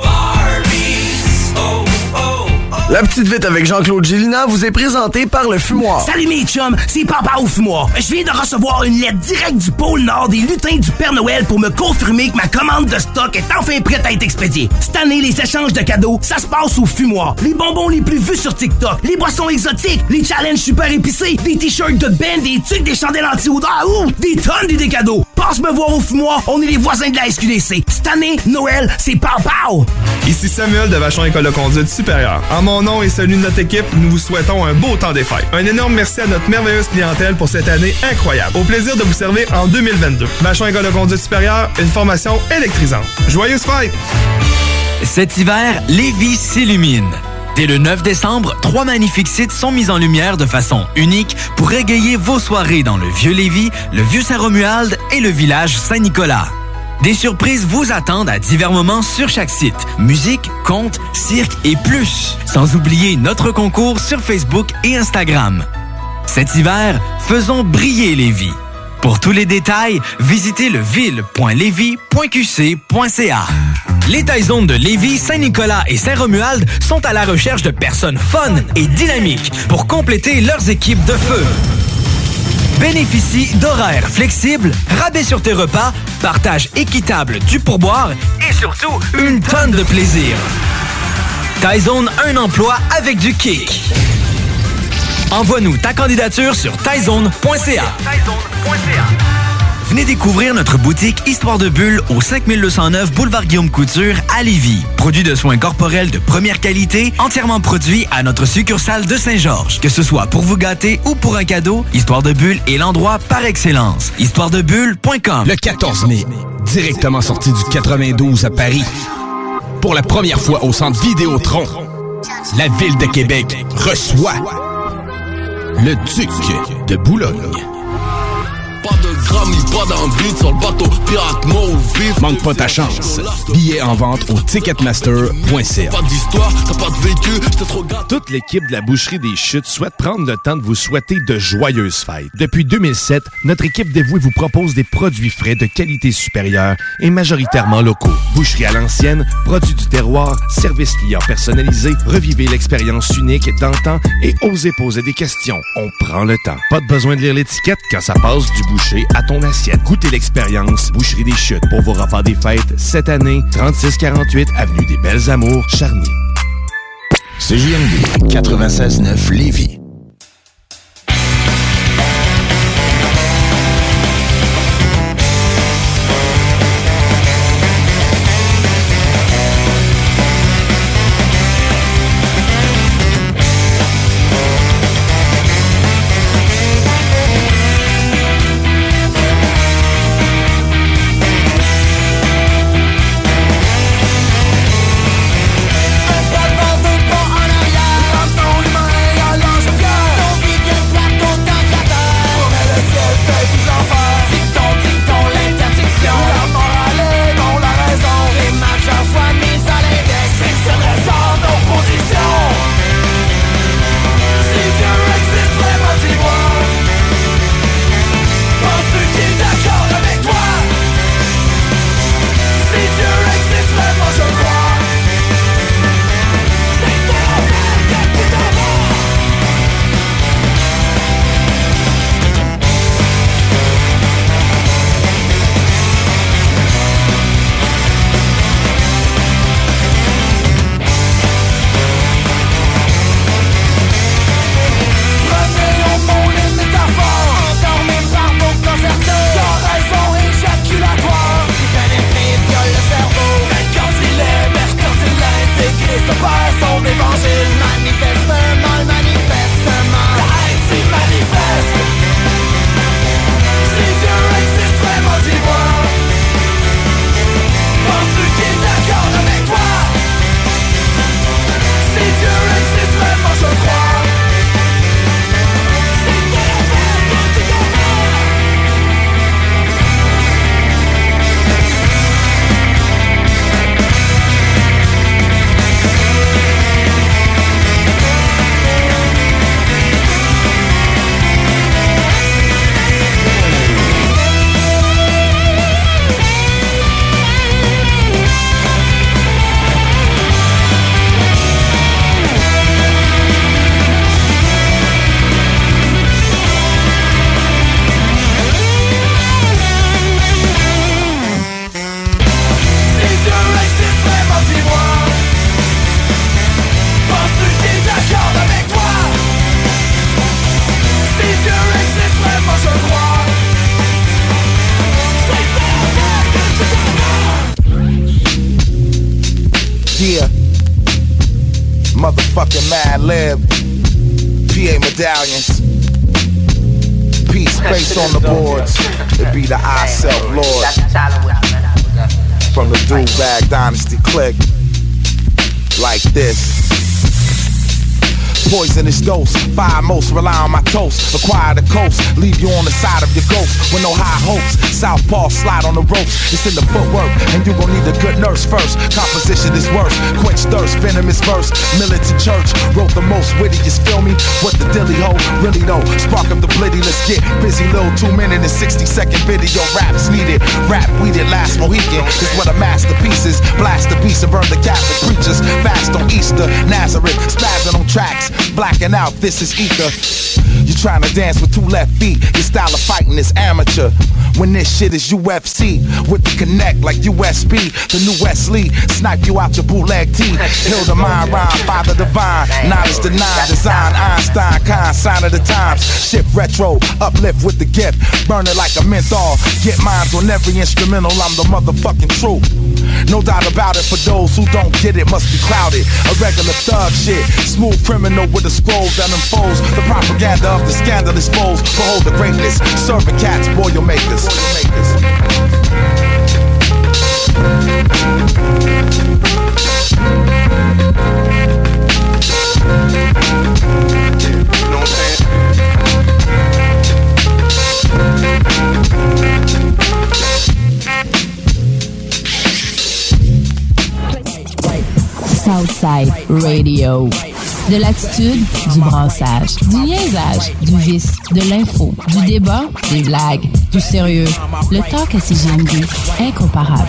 La petite vite avec Jean-Claude Gélina vous est présentée par le Fumoir. Salut mes chums, c'est Papa au Fumoir. Je viens de recevoir une lettre directe du pôle Nord des lutins du Père Noël pour me confirmer que ma commande de stock est enfin prête à être expédiée. Cette année, les échanges de cadeaux, ça se passe au Fumoir. Les bonbons les plus vus sur TikTok, les boissons exotiques, les challenges super épicés, des t-shirts de band, des tucs, des chandelles anti-odeur, des tonnes d'idées cadeaux. Passe me voir au Fumoir, on est les voisins de la SQDC. Cette année, Noël, c'est Pau. Ici Samuel de Vachon École de conduite supérieure. En mon nom et celui de notre équipe, nous vous souhaitons un beau temps des fêtes. Un énorme merci à notre merveilleuse clientèle pour cette année incroyable. Au plaisir de vous servir en 2022. Vachon École de conduite supérieure, une formation électrisante. Joyeuses fêtes! Cet hiver, Lévis s'illumine. Dès le 9 décembre, 3 magnifiques sites sont mis en lumière de façon unique pour égayer vos soirées dans le Vieux-Lévis, le Vieux-Saint-Romuald et le village Saint-Nicolas. Des surprises vous attendent à divers moments sur chaque site. Musique, contes, cirque et plus. Sans oublier notre concours sur Facebook et Instagram. Cet hiver, faisons briller Lévis. Pour tous les détails, visitez leville.lévis.qc.ca. Les Taizones de Lévis, Saint-Nicolas et Saint-Romuald sont à la recherche de personnes fun et dynamiques pour compléter leurs équipes de feu. Bénéficie d'horaires flexibles, rabais sur tes repas, partage équitable du pourboire et surtout une tonne de plaisir. Taizone, un emploi avec du kick. Envoie-nous ta candidature sur taizone.ca. Venez découvrir notre boutique Histoire de Bulle au 5209 Boulevard Guillaume Couture à Lévis. Produit de soins corporels de première qualité, entièrement produit à notre succursale de Saint-Georges. Que ce soit pour vous gâter ou pour un cadeau, Histoire de Bulle est l'endroit par excellence. Histoiredebulle.com. Le 14 mai, directement sorti du 92 à Paris. Pour la première fois au Centre Vidéotron, la Ville de Québec reçoit le Duc de Boulogne. chrome, il pas dans le vide sur le bateau. Pirate mot vif. Manque pas ta chance. Billets en vente au ticketmaster.ca. Pas d'histoire, t'as pas de vécu, t'es trop gâté. Toute l'équipe de la Boucherie des Chutes souhaite prendre le temps de vous souhaiter de joyeuses fêtes. Depuis 2007, notre équipe dévouée vous propose des produits frais de qualité supérieure et majoritairement locaux. Boucherie à l'ancienne, produits du terroir, service client personnalisé, revivez l'expérience unique d'antan et osez poser des questions. On prend le temps. Pas de besoin de lire l'étiquette quand ça passe du boucher à ton assiette. Goûtez l'expérience Boucherie des Chutes pour vos repas des fêtes cette année, 3648 Avenue des Belles Amours, Charny. CJMD 96.9 Lévis. Yeah, motherfucking Mad Lib, PA medallions, peace space on the boards. It be the I Self Lord from the Do-Bag Dynasty clique, like this. Poisonous dose, fire most rely on my toast. Acquire the coast, leave you on the side of your ghost with no high hopes. Southpaw slide on the ropes, it's in the footwork, and you gon' need a good nurse first. Composition is worse, quench thirst, venomous verse. Militant church wrote the most wittiest, feel me? What the dilly ho, really though. Spark up the blitty, let's get busy. Little 2 minute and 60-second video. Raps needed, rap weeded last Mohican. Is what a masterpiece is. Blast the beast and burn the Catholic preachers. Fast on Easter, Nazareth, spazzing on tracks. Blacking out, this is ether. You trying to dance with 2 left feet. Your style of fighting is amateur. When this shit is UFC, with the connect like USB. The new Wesley, snipe you out your bootleg tee. Heal the mind, rhyme, father divine. Knowledge denied, design, Einstein, kind, sign of the times. Shift retro, uplift with the gift. Burn it like a menthol. Get mines on every instrumental, I'm the motherfucking truth. No doubt about it, for those who don't get it, must be clouded. A regular thug shit, smooth criminal with a scroll that unfolds. The propaganda of the scandalous foes. Behold the greatness, serving cats, Boilermakers. You know what I'm saying? Vibe Radio. De l'attitude, du brassage, du niaisage, du vice, de l'info, du débat, des blagues, du sérieux. Le talk à CJMD, incomparable.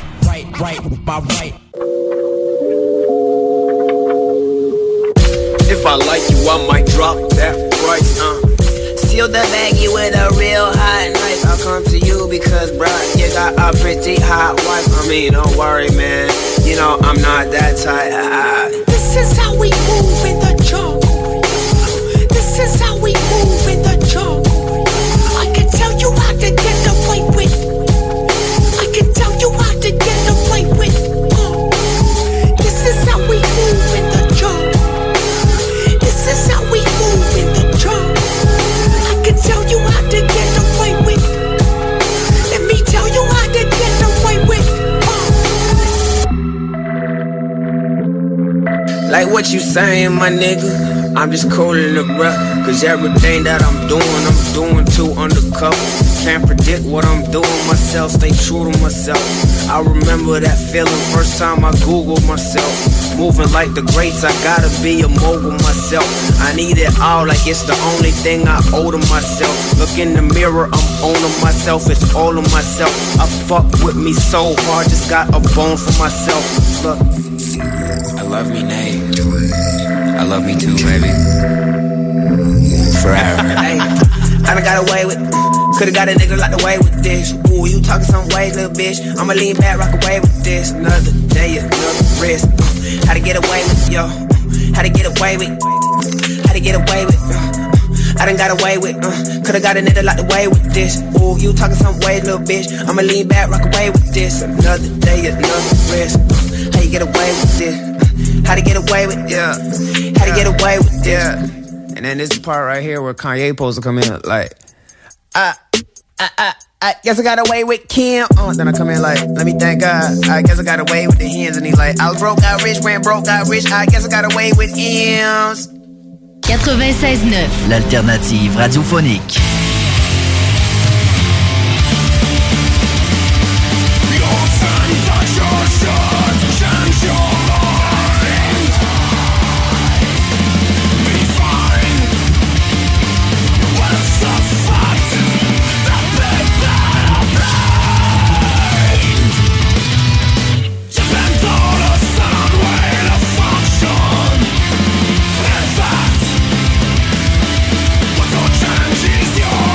If I like you, I might drop that price, Seal the baggie with a real hot knife. I'll come to you because, bruh, you got a pretty hot wife. I mean, don't worry, man. You know, I'm not that tight. This is how we move in the jungle. This is how we move in the jungle. I can tell you how to get away with. I can tell you how to get away with. This is how we move in the jungle. This is how we move in the jungle. I can tell you how to get away with. Let me tell you how to get away with. Like what you saying, my nigga? I'm just coolin' it, bruh. Cause everything that I'm doing too undercover. Can't predict what I'm doing myself, stay true to myself. I remember that feeling first time I Googled myself. Moving like the greats, I gotta be a mogul myself. I need it all like it's the only thing I owe to myself. Look in the mirror, I'm owning myself, it's all of myself. I fuck with me so hard, just got a bone for myself. Look, I love me, Nate. I love me too, baby. Forever. Hey, I done got away with. Could've got a nigga locked away with this. Ooh, you talking some ways, little bitch. I'ma lean back, rock away with this. Another day, another risk. How to get away with, yo. How to get away with. How to get away with. I done got away with. Could've got a nigga locked away with this. Ooh, you talking some ways, little bitch. I'ma lean back, rock away with this. Another day, another risk. How you get away with this? How to get away with, yeah. How to get away with this. Yeah. And then this part right here where Kanye supposed to come in like, I guess I got away with Kim. Then I come in like, let me thank God. I guess I got away with the hens. And he like, I was broke, got rich, went broke, got rich. I guess I got away with M's. 96.9, l'alternative radiophonique. Your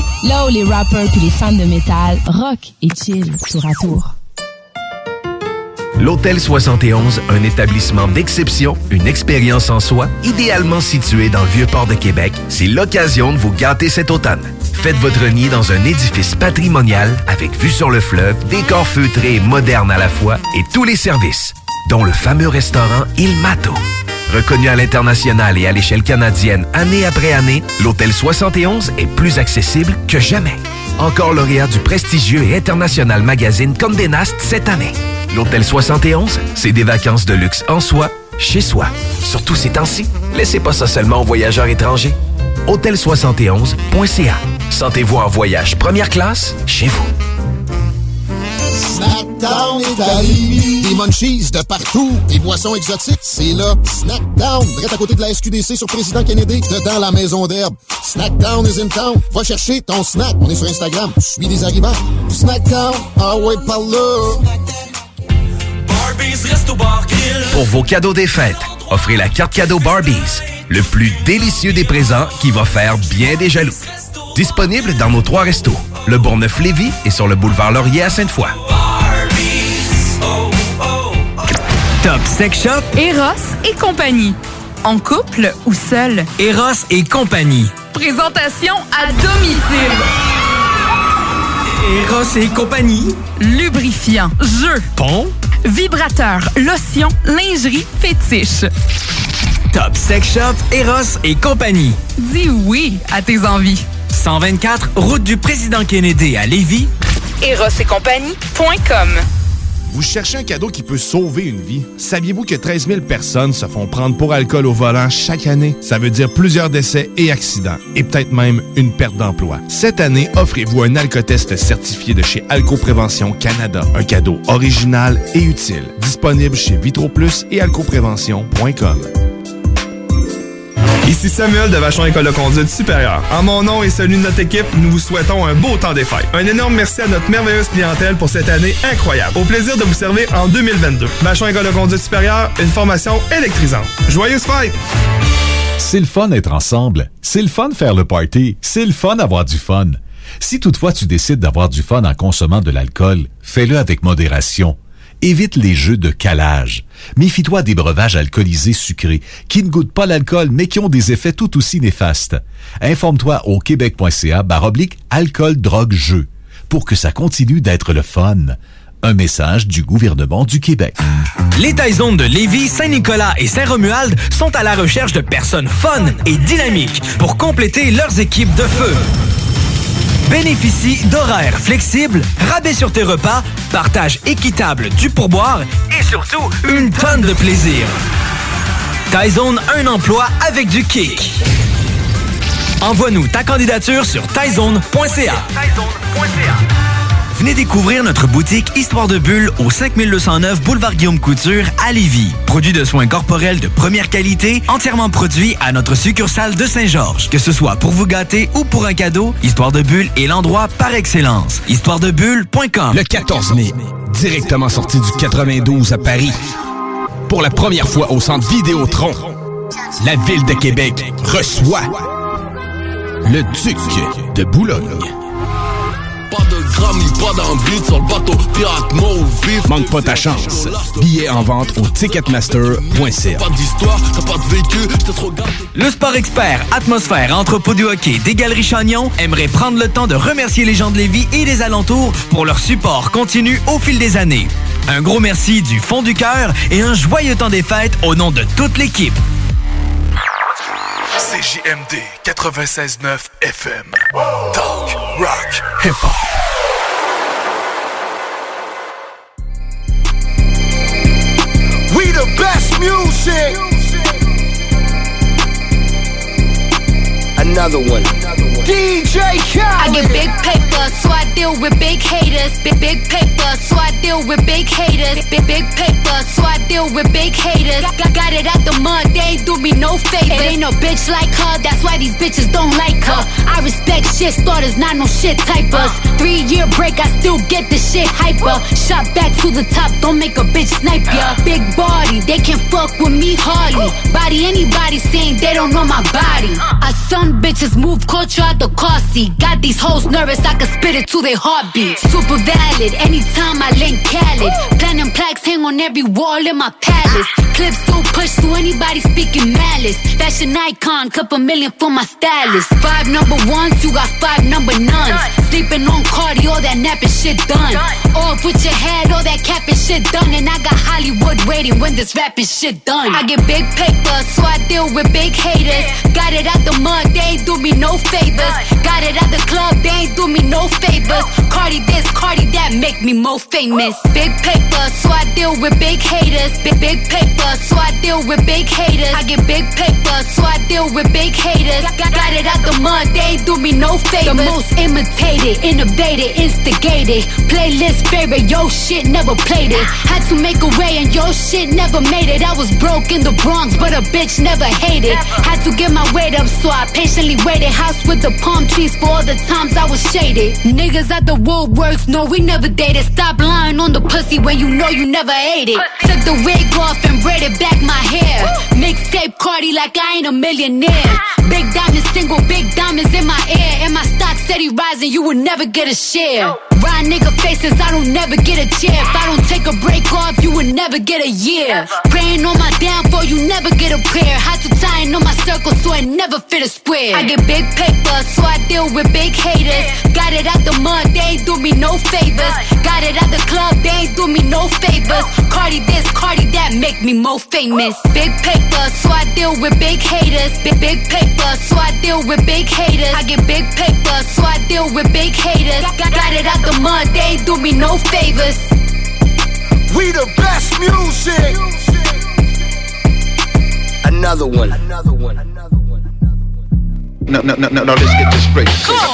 là où les rappers puis les fans de métal rock et chill tour à tour. L'Hôtel 71, un établissement d'exception, une expérience en soi, idéalement situé dans le Vieux-Port de Québec, c'est l'occasion de vous gâter cet automne. Faites votre nid dans un édifice patrimonial avec vue sur le fleuve, décor feutré et moderne à la fois et tous les services, dont le fameux restaurant Il Mato. Reconnu à l'international et à l'échelle canadienne année après année, l'Hôtel 71 est plus accessible que jamais. Encore lauréat du prestigieux et international magazine Condé Nast cette année. L'Hôtel 71, c'est des vacances de luxe en soi, chez soi. Surtout ces temps-ci, laissez pas ça seulement aux voyageurs étrangers. Hôtel71.ca. Sentez-vous en voyage première classe chez vous. Snackdown est à Lévis. Des munchies de partout. Des boissons exotiques, c'est là. Snackdown, direct à côté de la SQDC sur Président Kennedy, dedans la maison d'herbe. Snackdown is in town. Va chercher ton snack. On est sur Instagram. Suis des arrivants. Snackdown, ah ouais, par là. Pour vos cadeaux des fêtes, offrez la carte cadeau Barbies, le plus délicieux des présents qui va faire bien des jaloux. Disponible dans nos 3 restos, le Bourgneuf-Lévis et sur le boulevard Laurier à Sainte-Foy. Top Sex Shop, Eros et compagnie. En couple ou seul? Eros et compagnie. Présentation à domicile. Eros et compagnie. Lubrifiant, jeu, Pompe, vibrateur, lotion, lingerie, fétiche. Top Sex Shop, Eros et compagnie. Dis oui à tes envies. 124, route du Président Kennedy à Lévis. erosetcompagnie.com. Vous cherchez un cadeau qui peut sauver une vie? Saviez-vous que 13 000 personnes se font prendre pour alcool au volant chaque année? Ça veut dire plusieurs décès et accidents, et peut-être même une perte d'emploi. Cette année, offrez-vous un alcotest certifié de chez Alcoprévention Canada. Un cadeau original et utile. Disponible chez VitroPlus et alcoprévention.com. Ici Samuel de Vachon École de conduite supérieure. En mon nom et celui de notre équipe, nous vous souhaitons un beau temps des fêtes. Un énorme merci à notre merveilleuse clientèle pour cette année incroyable. Au plaisir de vous servir en 2022. Vachon École de conduite supérieure, une formation électrisante. Joyeuses fêtes! C'est le fun d'être ensemble. C'est le fun de faire le party. C'est le fun d'avoir du fun. Si toutefois tu décides d'avoir du fun en consommant de l'alcool, fais-le avec modération. Évite les jeux de calage. Méfie-toi des breuvages alcoolisés sucrés qui ne goûtent pas l'alcool mais qui ont des effets tout aussi néfastes. Informe-toi au québec.ca/alcool-drogue-jeu pour que ça continue d'être le fun. Un message du gouvernement du Québec. Les Taizones de Lévis, Saint-Nicolas et Saint-Romuald sont à la recherche de personnes fun et dynamiques pour compléter leurs équipes de feu. Bénéficie d'horaires flexibles, rabais sur tes repas, partage équitable du pourboire et surtout une tonne de plaisir. Taizone, un emploi avec du kick. Envoie-nous ta candidature sur taizone.ca. Venez découvrir notre boutique Histoire de Bulle au 5209 Boulevard Guillaume Couture à Lévis. Produit de soins corporels de première qualité, entièrement produit à notre succursale de Saint-Georges. Que ce soit pour vous gâter ou pour un cadeau, Histoire de Bulle est l'endroit par excellence. Histoiredebulle.com. Le 14 mai, directement sorti du 92 à Paris. Pour la première fois au centre Vidéotron, la ville de Québec reçoit le Duc de Boulogne. Pas de Grammy, pas d'envie sur le bateau pirate mort ou vif. Manque pas ta chance. Billets en vente au ticketmaster.ca. Pas d'histoire, t'as pas de vécu, j'étais trop gâté. Le sport expert Atmosphère Entrepôt du hockey des Galeries Chagnon aimerait prendre le temps de remercier les gens de Lévis et des alentours pour leur support continu au fil des années. Un gros merci du fond du cœur et un joyeux temps des fêtes au nom de toute l'équipe. CJMD 96.9 FM. Talk, rock, hip-hop. We the best music. Another one. DJ Khaled. I get big paper, so I deal deal with big haters. Big paper, so I deal with big haters. Big paper, so I deal with big haters. Got it out the mud, they ain't do me no favors. It ain't no bitch like her, that's why these bitches don't like her. I respect shit starters, not no shit typers. 3-year break, I still get the shit hyper. Shot back to the top, don't make a bitch snipe ya. Big body, they can fuck with me hardly. Body anybody saying they don't know my body. I son bitches move culture out the car seat. Got these hoes nervous, I can spit it to their heartbeat. Super valid, anytime I link Khaled. Platinum plaques hang on every wall in my palace. Clips still push to anybody speaking malice. Fashion icon, couple million for my stylist. 5 number ones, you got 5 number nuns. Sleeping on Cardi, all that napping shit done. Off with your head, all that capping shit done. And I got Hollywood waiting when this rapping shit done. I get big paper, so I deal with big haters. Got it out the mud, they ain't do me no favors. Got it out the club, they ain't do me no favors. Cardi this, Cardi that, make me more famous. Big paper, so I deal with big haters. Big paper, so I deal with big haters. I get big paper, so I deal with big haters. Got it out the mud, they ain't do me no favors. The most imitated, innovated, instigated. Playlist favorite, yo shit never played it. Had to make a way and yo shit never made it. I was broke in the Bronx, but a bitch never hated. Had to get my weight up, so I patiently waited. House with the palm trees for all the times I was shaded. Niggas at the Woolworths, no we never dated. Stop lying on the pussy when you know you never ate it. Took the wig off and braided back my hair. Mixtape Cardi like I ain't a millionaire. Big diamonds single, big diamonds in my ear. And my stock steady rising, you will never get a share. Ride nigga faces, I don't never get a chair. If I don't take a break off, you will never get a year. Praying on my downfall, you never get a prayer. Had to tie in on my circle so I never fit a square. I get big paper, so I deal with big haters. Got it out the mud, they ain't do me no favors. Got it out the club, they ain't do me no favors. Cardi this, Cardi that, make me more famous. Big paper, so I deal with big haters. Big paper, so I deal with big haters. I get big paper, so I deal with big haters. Got it out the mud, they ain't do me no favors. We the best music. Another one. No, let's get this straight.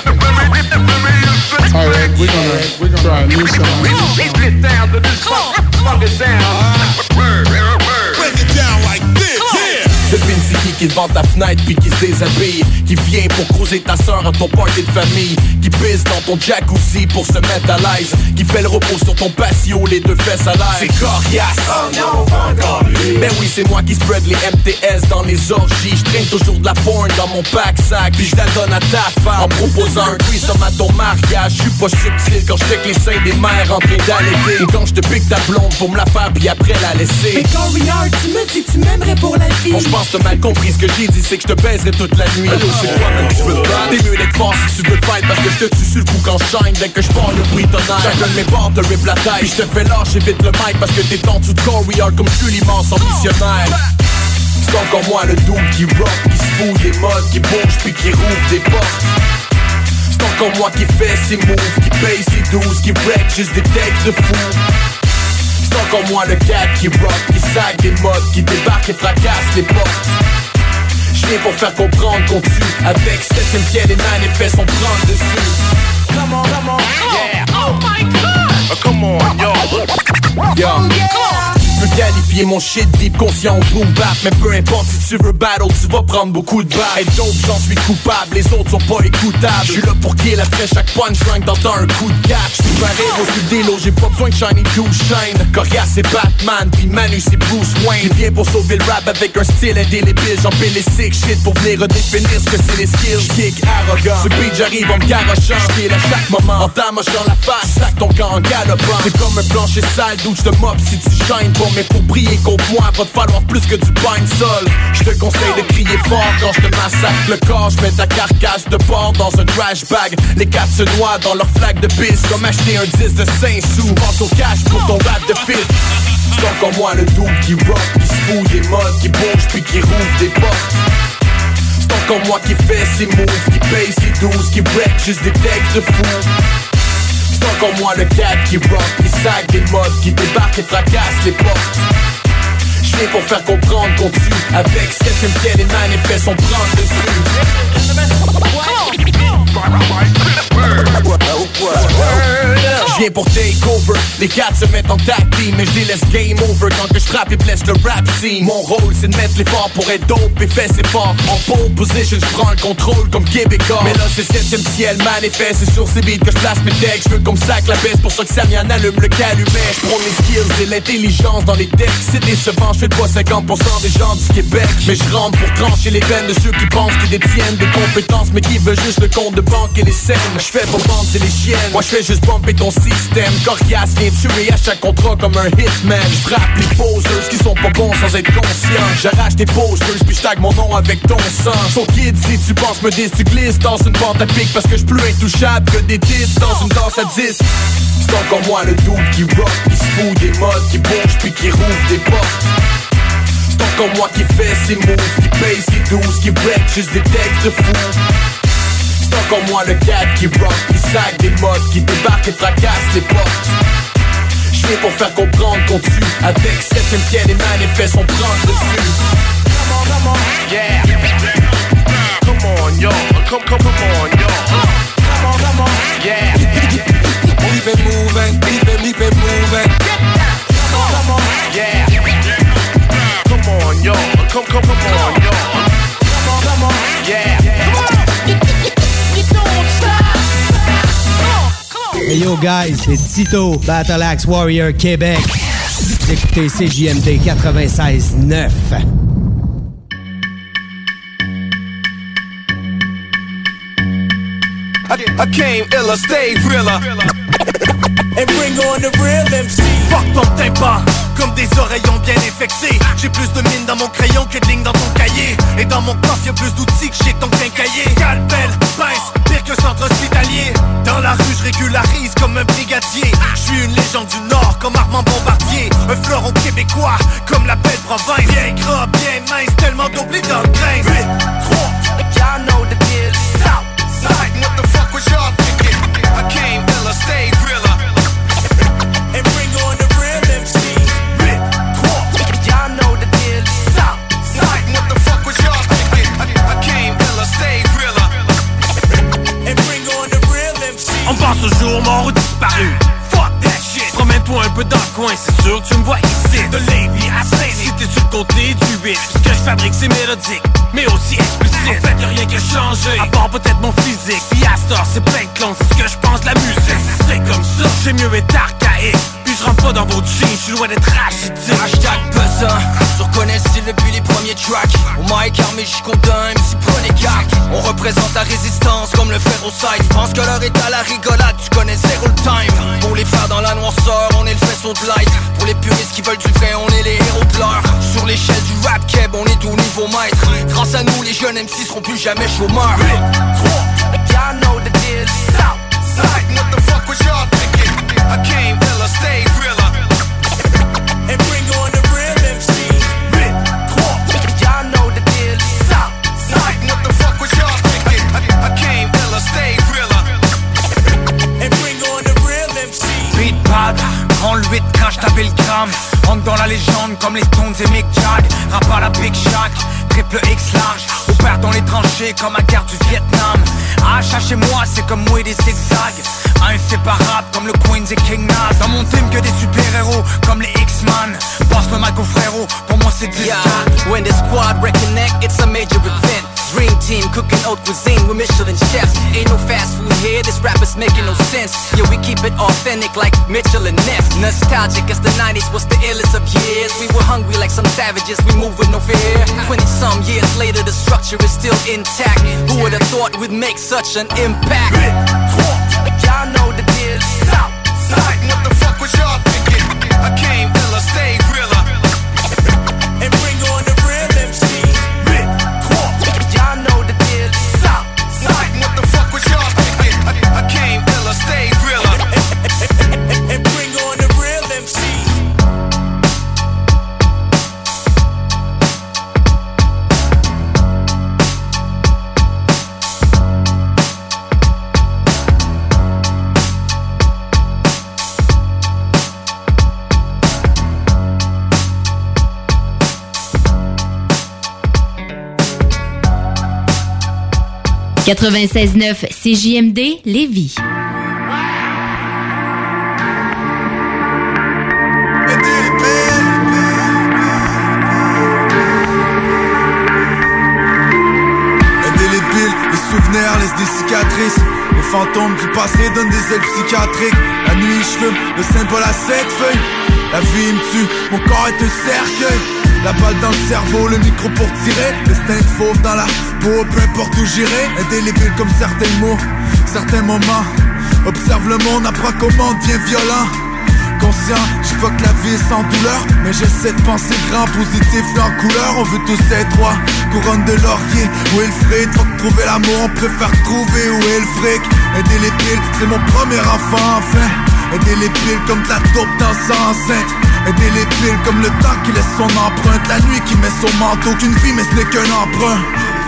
Alright, we're gonna try a new song. Get down to this funk it down. Break it down like this, yeah. Devine c'est qui devant ta fenêtre puis qui se déshabille. Qui vient pour croiser ta sœur à ton party de famille. Qui pisse dans ton jacuzzi pour se mettre à l'aise. Qui fait le repos sur ton patio, les deux fesses à l'air. C'est coriace. Oh non, encore lui. Ben oui, c'est moi qui spread les MTS dans les orgies. J'traîne toujours de la porn dans mon pack-sac. Puis j'la donne à ta femme en proposant un threesome à ton mariage. J'suis pas subtil quand j'check les seins des mères en train d'allaiter. Ou quand j'te pique ta blonde pour me la faire puis après la laisser. Mais quand Riard, tu me dis tu m'aimerais pour la vie. Bon, j'pense que t'as mal compris ce que j'ai dit, c'est que je te baiserai toute la nuit. Allô, c'est toi même que je veux te battre. T'es mieux d'être fort si tu veux te fight, parce que je te tue sur le coup quand j'shine. Dès que j'pars le bruit tonnerre, chacun de mes bords te rip la tête. Puis je te fais lâcher vite le mic parce que t'es en dessous de Corey Hard comme je suis l'immense ambitionnaire. C'est encore moi le dude qui rock, qui se fout des modes, qui bouge puis qui rouvre des portes. C'est encore moi qui fait ses moves, qui paye ses 12, qui break juste des textes de fou. C'est encore moi le gars qui rock, qui sac des modes, qui débarque et fracasse les portes. J'viens pour faire comprendre qu'on tue. Avec 7ème ciel et man et fait son prendre dessus. Come on, yeah. Oh my god. Come on, yo. Yo. Je peux qualifier mon shit deep conscient au boom bap. Mais peu importe si tu veux battle, tu vas prendre beaucoup de balles. Et d'autres, j'en suis coupable, les autres sont pas écoutables. J'suis là pour kill après chaque punchline, t'entends un coup de catch. J'suis pareil au sud des lots, j'ai pas besoin de shiny douche shine. Coriace c'est Batman, puis Manu c'est Bruce Wayne. Il vient pour sauver le rap avec un style indélébile. J'empile les sick shit pour venir redéfinir ce que c'est les skills. Kick arrogant, ce beat j'arrive en me garochant. J'kill à chaque moment, en t'amochant la face. Sac ton camp en galopant. C'est comme un plancher sale d'où j'te mop si tu shines pour mais pour briller contre moi, va te falloir plus que du pain de sol. Je te conseille de crier fort quand je te massacre le corps. Je mets ta carcasse de porc dans un trash bag. Les quatre se noient dans leur flaque de pisse. Comme acheter un 10 de 5 sous. Pense au cash pour ton rap de fils. C'est encore moi le dude qui rock, qui se fout des modes, qui bouge puis qui rouvre des portes. C'est encore moi qui fait ses moves, qui paye ses 12, qui break juste des textes de fou. C'est encore moi le gars qui rock, qui sac des modes, qui débarque et fracasse les portes. J'viens pour faire comprendre qu'on tue. Avec 7ème ciel et man et fait son prendre dessus. viens pour take over. Les gars se mettent en tag team, mais je les laisse game over quand que je frappe et blesse le rap scene. Mon rôle c'est de mettre l'effort pour être dope et fait ses forts. En pole position, je prends le contrôle comme Québécois. Mais là c'est 7ème ciel manifeste, c'est sur ces beats que je place mes textes. Je veux comme ça que la baisse, pour ça que Samian allume le calumet. Je prends mes skills et l'intelligence dans les textes. C'est décevant, je fais pas 50% des gens du Québec. Mais je rentre pour trancher les veines de ceux qui pensent qu'ils détiennent des compétences, mais qui veulent juste le compte de banque et les scènes. Je fais pas vendre, c'est les chiennes. Moi je fais juste bumper ton système. Coriace vient tuer à chaque contrat comme un hitman. Je frappe les posers qui sont pas bons sans être conscient. J'arrache tes posters puis je tag mon nom avec ton sang. So kid, si tu penses me dis, tu glisses dans une pente à pic parce que je plus intouchable que des tits dans une danse à 10. C'est encore moi le dude qui rock, qui se fout des modes, qui bouge puis qui rouvre des portes. C'est encore moi qui fait ses moves, qui paye ses 12, qui break juste des textes de fou. C'est encore moi le gars qui rock, qui sac des modes, qui débarque et fracasse les portes. Je viens pour faire comprendre qu'on tue. Avec 7ème ciel et manifeste, on prend le dessus. Come on, yeah. Come on, yo. Come on, yo. Come on, yeah. Keep it moving, keep it moving. Come on, yeah. Come on, yo. Come on, yo. Come on, yeah. Hey yo guys, c'est Tito, Battle Axe Warrior Québec. Vous écoutez CJMD 96.9. I came illa, stay realer. And bring on the real MC. Fuck ton tympan, comme des oreillons bien infectés. J'ai plus de mine dans mon crayon que de lignes dans ton cahier. Et dans mon coffre y'a plus d'outils que chez ton quincailler. Scalpel, pince, pire que centre hospitalier. Dans la rue je régularise comme un brigadier. Je suis une légende du Nord comme Armand Bombardier. Un fleuron québécois comme la belle province. Bien gras, bien mince, tellement d'oubli dans le grain. 8, 3, y'all know the deal. Southside, what the fuck was y'all thinking? I came illa, stayed realer. And bring on the real MC. 8, 3, y'all know the deal. Southside, what the fuck was y'all thinking? I came illa, stayed realer. And bring on the real MC. On pense au jour mort ou disparu. Fuck that shit. Promène-toi un peu dans le coin, c'est sûr tu me vois ici. De Lévis à Saint-Denis, si t'es sur le côté du 8. Ce que je fabrique c'est mélodique, mais aussi explicite. En fait y'a rien qui a changé, à part peut-être mon physique. Puis à cette heure c'est plein de clones, c'est ce que je pense de la musique. C'est comme ça, j'ai mieux être archaïque. Puis je rentre pas dans vos jeans, je suis loin d'être rachitique. Hashtag buzzer, tu reconnais le style depuis les premiers tracks. On mic armé jusqu'au dun, MC prenez garde. On représente la résistance comme le fer au side. Je pense que l'heure est à la rigolade, tu connais zéro le time. Pour les faire dans la noirceur, on est le faisceau de light. Pour les puristes qui veulent du vrai, on est les héros de l'heure. Sur l'échelle du rap keb, on est au niveau maître. Grâce à nous, les jeunes MC seront plus jamais chômeurs. 8, 3, y'all know the deal. Southside, what the fuck was y'all thinking? I came illa, stayed realer. And bring on the real MC. 8, 3, y'all know the deal. Southside, what the fuck was y'all thinking? I came illa, stayed realer. And bring on the real MC. Beat pad, prends le 8 quand j't'avais le gramme. Entre dans la légende comme les Stones et Mick Jagger. Rap à la Big Shack, triple X large. Opère dans les tranchées comme à guerre du Vietnam. H chez moi c'est comme moi des zigzags. Inséparable comme le Queens et King Nas. Dans mon team que des super-héros comme les X-Man. Passe le mic au frérot, pour moi c'est 10. Yeah, when the squad reconnect, it's a major event. Dream team cooking haute cuisine with Michelin chefs. Ain't no fast food here, this rap is making no sense. Yeah, we keep it authentic like Mitchell and Ness. Nostalgic as the 90s was the illest of years. We were hungry like some savages, we move with no fear. 20-some years later, the structure is still intact. Who would have thought we'd make such an impact? 8, 3, y'all know the deal. Southside, what the fuck was y'all thinking? I came illa, stayed realer. And bring on the real MC. 8, 3, y'all know the deal. Southside, what the fuck was y'all thinking? I came illa, stayed realer. And bring on the real MC. « 96.9 CJMD Lévis. fantômes du passé donnent des ailes psychiatriques. La nuit je fume, le symbole à 7 feuilles. La vie me tue, mon corps est un cercueil. La balle dans le cerveau, le micro pour tirer. L'estin de fauve dans la peau, peu importe où j'irai. Indélébile comme certains mots, certains moments. Observe le monde, apprends comment on devient violent. Conscient, je vois que la vie est sans douleur, mais j'essaie de penser grand, positif et en couleur. On veut tous être rois, couronne de laurier. Où est le fric? Faut que trouver l'amour, on préfère trouver où est le fric. Indélébile, c'est mon premier enfant enfin. Indélébile comme de la taupe dans sa enceinte. Indélébile comme le temps qui laisse son empreinte. La nuit qui met son manteau, qu'une vie mais ce n'est qu'un emprunt.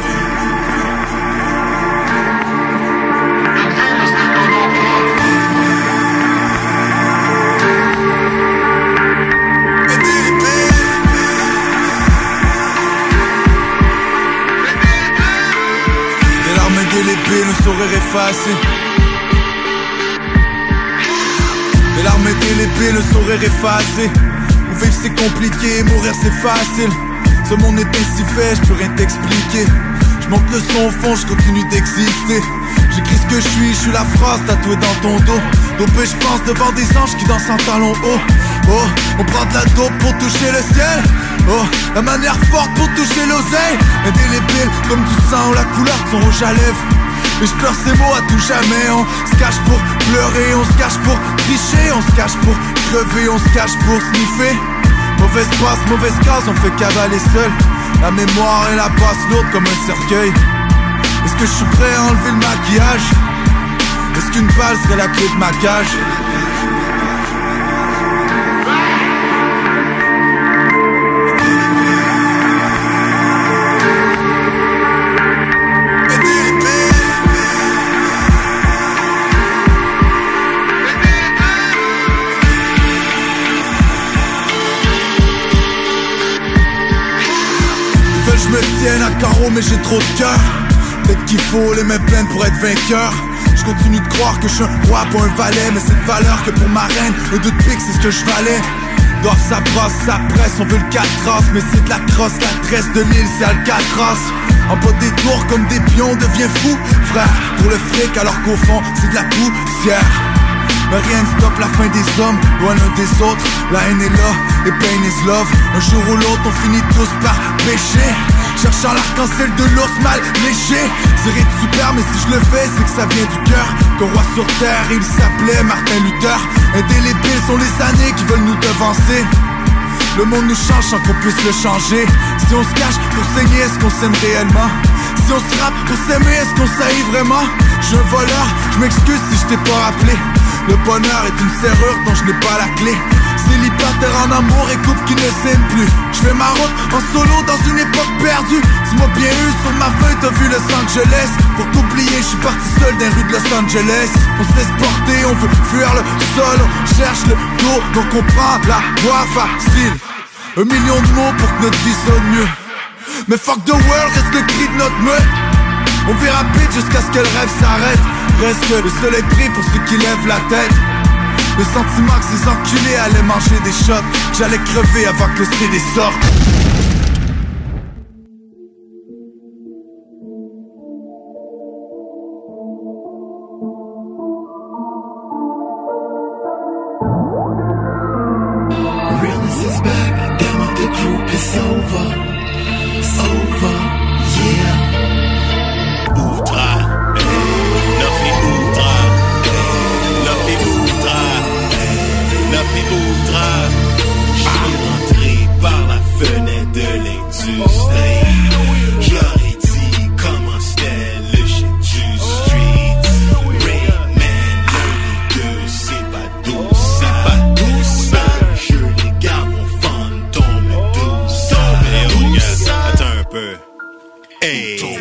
Des larmes indélébiles, un sourire effacé. Des larmes indélébiles, le sourire effacé. Où vivre c'est compliqué, mourir c'est facile. Ce monde est ainsi fait, je peux rien t'expliquer. Je monte le son au fond, je continue d'exister. J'écris ce que je suis la phrase tatouée dans ton dos. Dopé je pense devant des anges qui dansent en talons hauts. Oh, on prend de la dope pour toucher le ciel. Oh, la manière forte pour toucher l'oseille. Indélébile comme du sang ou la couleur de son rouge à lèvres. Et je pleure ces mots à tout jamais. On se cache pour pleurer, on se cache pour tricher. On se cache pour crever, on se cache pour sniffer. Mauvaise passe, mauvaise case, on fait cavaler seul. La mémoire et la passe lourde comme un cercueil. Est-ce que je suis prêt à enlever le maquillage? Est-ce qu'une balle serait la clé de ma cage? Je me tienne à carreau mais j'ai trop de cœur. Peut-être qu'il faut les mains pleines pour être vainqueur. Je continue de croire que je suis un roi pour un valet. Mais c'est de valeur que pour ma reine, le doute pique c'est ce que je valais. Dehors ça brasse, ça presse, on veut le 4 traces. Mais c'est de la crosse, la tresse de l'île c'est Alcatraz. En bas des tours comme des pions, on devient fou frère, pour le fric alors qu'au fond c'est de la poussière. Mais rien ne stoppe la fin des hommes, loin l'un des autres. La haine est là, et pain is love. Un jour ou l'autre, on finit tous par pécher. Cherchant l'arc-en-ciel de l'ours mal léché. C'est rien de super, mais si je le fais, c'est que ça vient du cœur. Qu'un roi sur terre, il s'appelait Martin Luther. Indélébiles sont les années qui veulent nous devancer. Le monde nous change sans qu'on puisse le changer. Si on se cache pour saigner, est-ce qu'on s'aime réellement? Si on se rappe pour s'aimer, est-ce qu'on s'haït vraiment? Je suis un voleur, je m'excuse si je t'ai pas rappelé. Le bonheur est une serrure dont je n'ai pas la clé. Célibataire en amour et couple qui ne s'aime plus. Je fais ma route en solo dans une époque perdue. Dis-moi bien eu, sur ma feuille t'as vu Los Angeles. Pour t'oublier, je suis parti seul dans les rues de Los Angeles. On se laisse porter, on veut fuir le sol. On cherche le dos, donc on prend la voie facile. 1 million de mots pour que notre vie sonne mieux. Mais fuck the world, reste le cri de notre meute. On vit rapide jusqu'à ce que le rêve s'arrête. Reste que le soleil brille pour ceux qui lèvent la tête. Le sentiment que ces enculés allaient manger des shots, que j'allais crever avant que le CD sorte. Realness is back, damn it, the group is over. It's over, yeah. Outra, Nuffy Outra, Nuffy Outra, Nuffy Outra. J'suis rentré par la fenêtre de l'industrie. J'aurais dit comment c'était le shit du street. Rayman, le leader, c'est pas doux, c'est pas doux, ça. Je les gars vont fantôme douce. Attends un peu. Hey.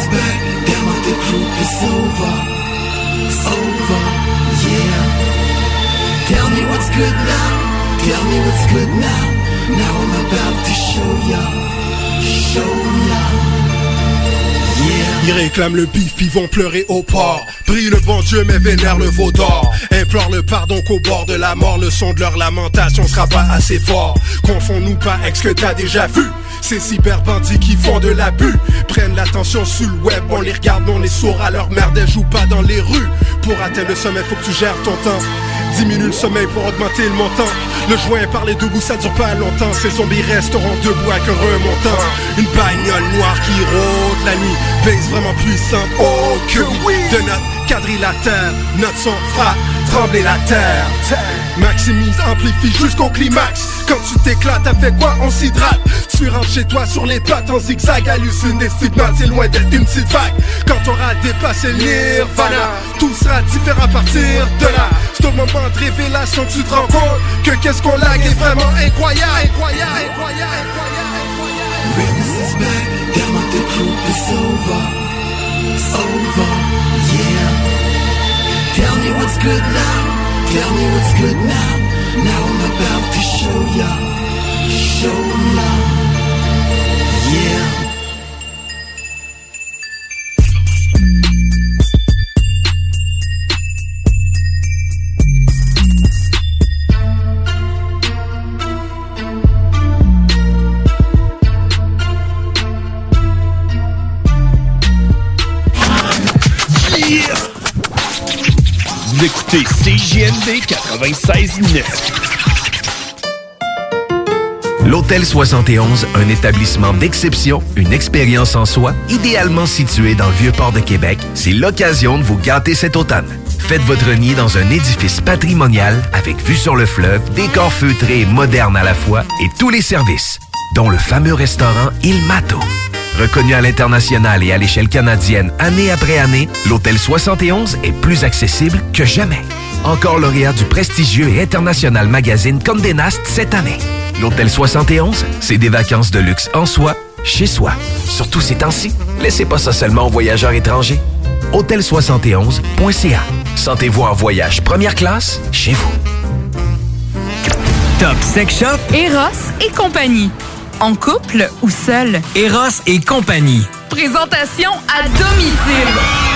is back, down with the group, it's over. It's over, yeah. Tell me what's good now, tell me what's good now. Now I'm about to show ya, show ya. Ils réclament le bif, ils vont pleurer au port. Prie le bon Dieu mais vénère le veau d'or. Implore le pardon qu'au bord de la mort, le son de leur lamentation sera pas assez fort. Confonds-nous pas avec ce que t'as déjà vu. Ces cyberbandits qui font de l'abus prennent l'attention sur le web, on les regarde, on est sourds à leur merde, elles jouent pas dans les rues. Pour atteindre le sommet, faut que tu gères ton temps. Diminue le sommeil pour augmenter le montant. Le joint par les debout, ça dure pas longtemps. Ces zombies resteront debout avec un remontant. Une bagnole noire qui rôde la nuit, baisse vraiment puissante, oh que oui. De notre quadrilatère, notre son frappe, trembler la terre. Maximise, amplifie jusqu'au climax. Quand tu t'éclates, avec quoi on s'hydrate. Tu rentres chez toi sur les pattes en zigzag. Hallucine des stigmates, c'est loin d'être une petite vague. Quand t'auras dépassé le nirvana, tout sera différent à partir de là. C'est au moment de révélation que tu te rends compte que qu'est-ce qu'on lag est vraiment incroyable. Realness is back, down with the group, it's over. It's over, yeah. Tell me what's good now, tell me what's good now. Now I'm about to show ya, yeah. Vous écoutez CJMD 96.9. L'Hôtel 71, un établissement d'exception, une expérience en soi, idéalement situé dans le Vieux-Port de Québec, c'est l'occasion de vous gâter cet automne. Faites votre nid dans un édifice patrimonial avec vue sur le fleuve, décor feutré et moderne à la fois et tous les services, dont le fameux restaurant Il Mato. Reconnu à l'international et à l'échelle canadienne année après année, l'Hôtel 71 est plus accessible que jamais. Encore lauréat du prestigieux et international magazine Condé Nast cette année. L'Hôtel 71, c'est des vacances de luxe en soi, chez soi. Surtout ces temps-ci, laissez pas ça seulement aux voyageurs étrangers. Hôtel71.ca. Sentez-vous en voyage première classe chez vous. Top Sex Shop, Eros et compagnie. En couple ou seul? Eros et compagnie. Présentation à domicile.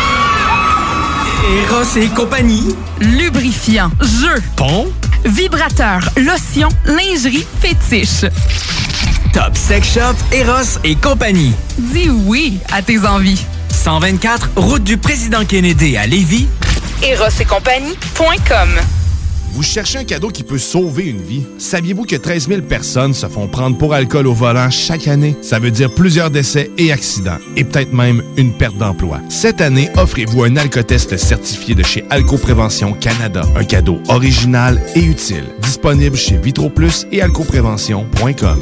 Eros et compagnie. Lubrifiant, jeu, pompe, vibrateur, lotion, lingerie, fétiche. Top Sex Shop, Eros et compagnie. Dis oui à tes envies. 124, route du Président Kennedy à Lévis. erosetcompagnie.com. Vous cherchez un cadeau qui peut sauver une vie? Saviez-vous que 13 000 personnes se font prendre pour alcool au volant chaque année? Ça veut dire plusieurs décès et accidents, et peut-être même une perte d'emploi. Cette année, offrez-vous un alcotest certifié de chez Alcoprévention Canada. Un cadeau original et utile. Disponible chez VitroPlus et alcoprévention.com.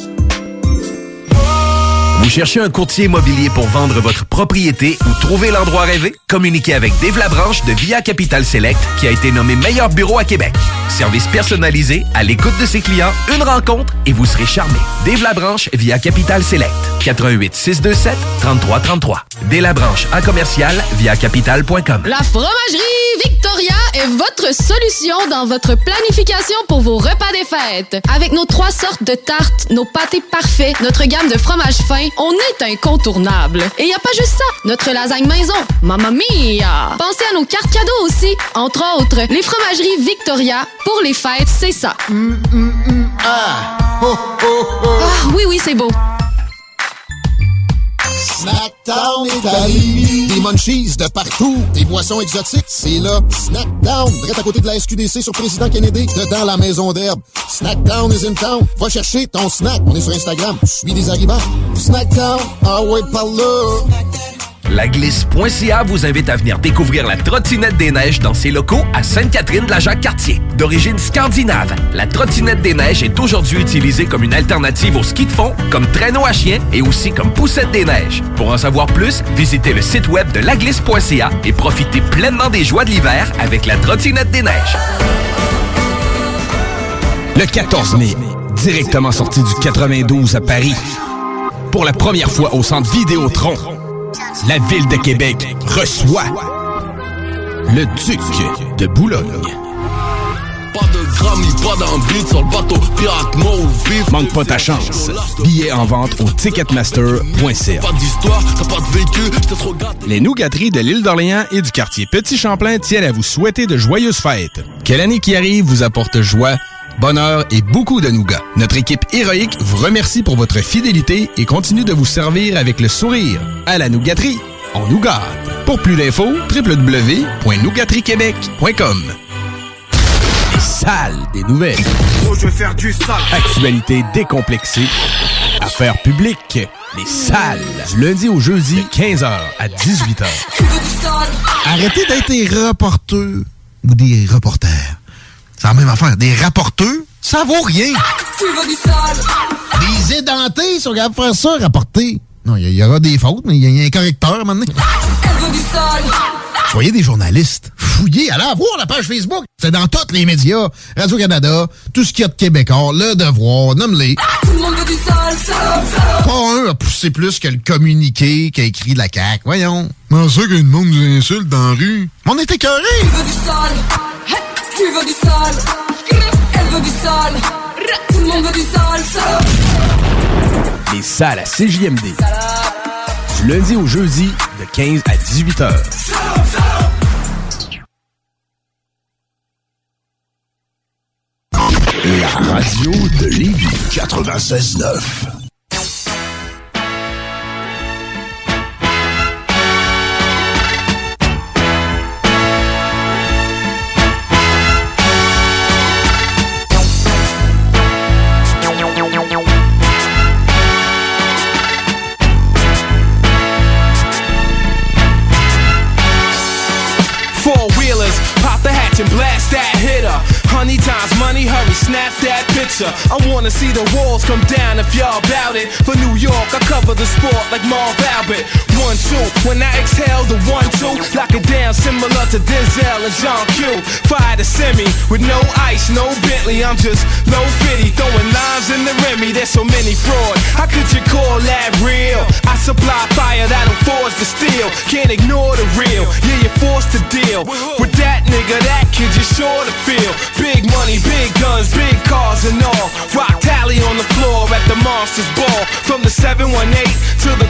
Vous cherchez un courtier immobilier pour vendre votre propriété ou trouver l'endroit rêvé? Communiquez avec Dave Labranche de Via Capital Select qui a été nommé meilleur bureau à Québec. Service personnalisé, à l'écoute de ses clients, une rencontre et vous serez charmé. Dave Labranche via Capital Select. 88 627 3333. Dave Labranche à commercial via capital.com. La fromagerie Victoria est votre solution dans votre planification pour vos repas des fêtes. Avec nos 3 sortes de tartes, nos pâtés parfaits, notre gamme de fromages fins, on est incontournable. Et y a pas juste ça, notre lasagne maison, mamma mia! Pensez à nos cartes cadeaux aussi. Entre autres, les fromageries Victoria, pour les fêtes, c'est ça. Ah! Oh, oh, oh. Ah, oui, c'est beau. Snackdown Italie. Des munchies de partout. Des boissons exotiques, c'est là. Snackdown, direct à côté de la SQDC sur Président Kennedy, dedans la maison d'herbe. Snackdown is in town. Va chercher ton snack. On est sur Instagram. Je suis des arrivants. Snackdown, ah ouais, par là. Laglisse.ca vous invite à venir découvrir la trottinette des neiges dans ses locaux à Sainte-Catherine-de-la-Jacques-Cartier. D'origine scandinave, la trottinette des neiges est aujourd'hui utilisée comme une alternative au ski de fond, comme traîneau à chien et aussi comme poussette des neiges. Pour en savoir plus, visitez le site web de laglisse.ca et profitez pleinement des joies de l'hiver avec la trottinette des neiges. Le 14 mai, directement sorti du 92 à Paris, pour la première fois au Centre Vidéotron, La Ville de Québec reçoit le Duc de Boulogne. Pas de grammy, pas d'envie sur le bateau pirate mort vif. Manque pas ta chance. Billets en vente au ticketmaster.ca. Pas d'histoire, t'as pas de vécu, t'es trop gâté. Les nougateries de l'île d'Orléans et du quartier Petit-Champlain tiennent à vous souhaiter de joyeuses fêtes. Que l'année qui arrive vous apporte joie, bonheur et beaucoup de nougats. Notre équipe héroïque vous remercie pour votre fidélité et continue de vous servir avec le sourire. À la nougaterie, on nous gâte. Pour plus d'infos, www.nougateriequebec.com. Les salles des nouvelles. Oh, je vais faire du sale. Actualité décomplexée. Affaires publiques. Les salles. Du lundi au jeudi, 15h à 18h. Arrêtez d'être des reporters ou des reporters. C'est la même affaire. Des rapporteurs, ça vaut rien. Tu veux du sale? Des édentés sont capables de faire ça, rapporter. Non, il y aura des fautes, mais il y a un correcteur à un moment donné. Elle veut du sale. Soyez des journalistes. Fouillez, allez voir la page Facebook. C'est dans tous les médias. Radio-Canada, tout ce qu'il y a de québécois, Le Devoir, nomme-les. Tout le monde veut du sale, sale, sale. Pas un a poussé plus que le communiqué qu'a écrit de la CAQ. Voyons. Comment ça qu'il y a une monde nous insulte dans la rue? On est écœurés. Tu veux du sale? Tu veux du sale? Elle veut du sale. Tout le monde veut du sale, sale. Les salles à CJMD. Du lundi au jeudi, de 15 à 18h. La radio de Lévis. 96.9. And blast that hitter. Honey times money, hurry, snap that picture. I wanna see the walls come down if y'all bout it. For New York, I cover the sport like Marv Albert. 1-2, when I exhale the 1-2, lock it down similar to Denzel and John Q. Fire the semi with no ice, no Bentley. I'm just low fitty, throwing limes in the Remy. There's so many fraud. How could you call that real? I supply fire that'll force the steel. Can't ignore the real. Yeah, you're forced to deal with that nigga. That kid, you're sure to feel big money, big guns, big cars and all. Rock tally on the floor at the Monsters Ball. From the 718 to the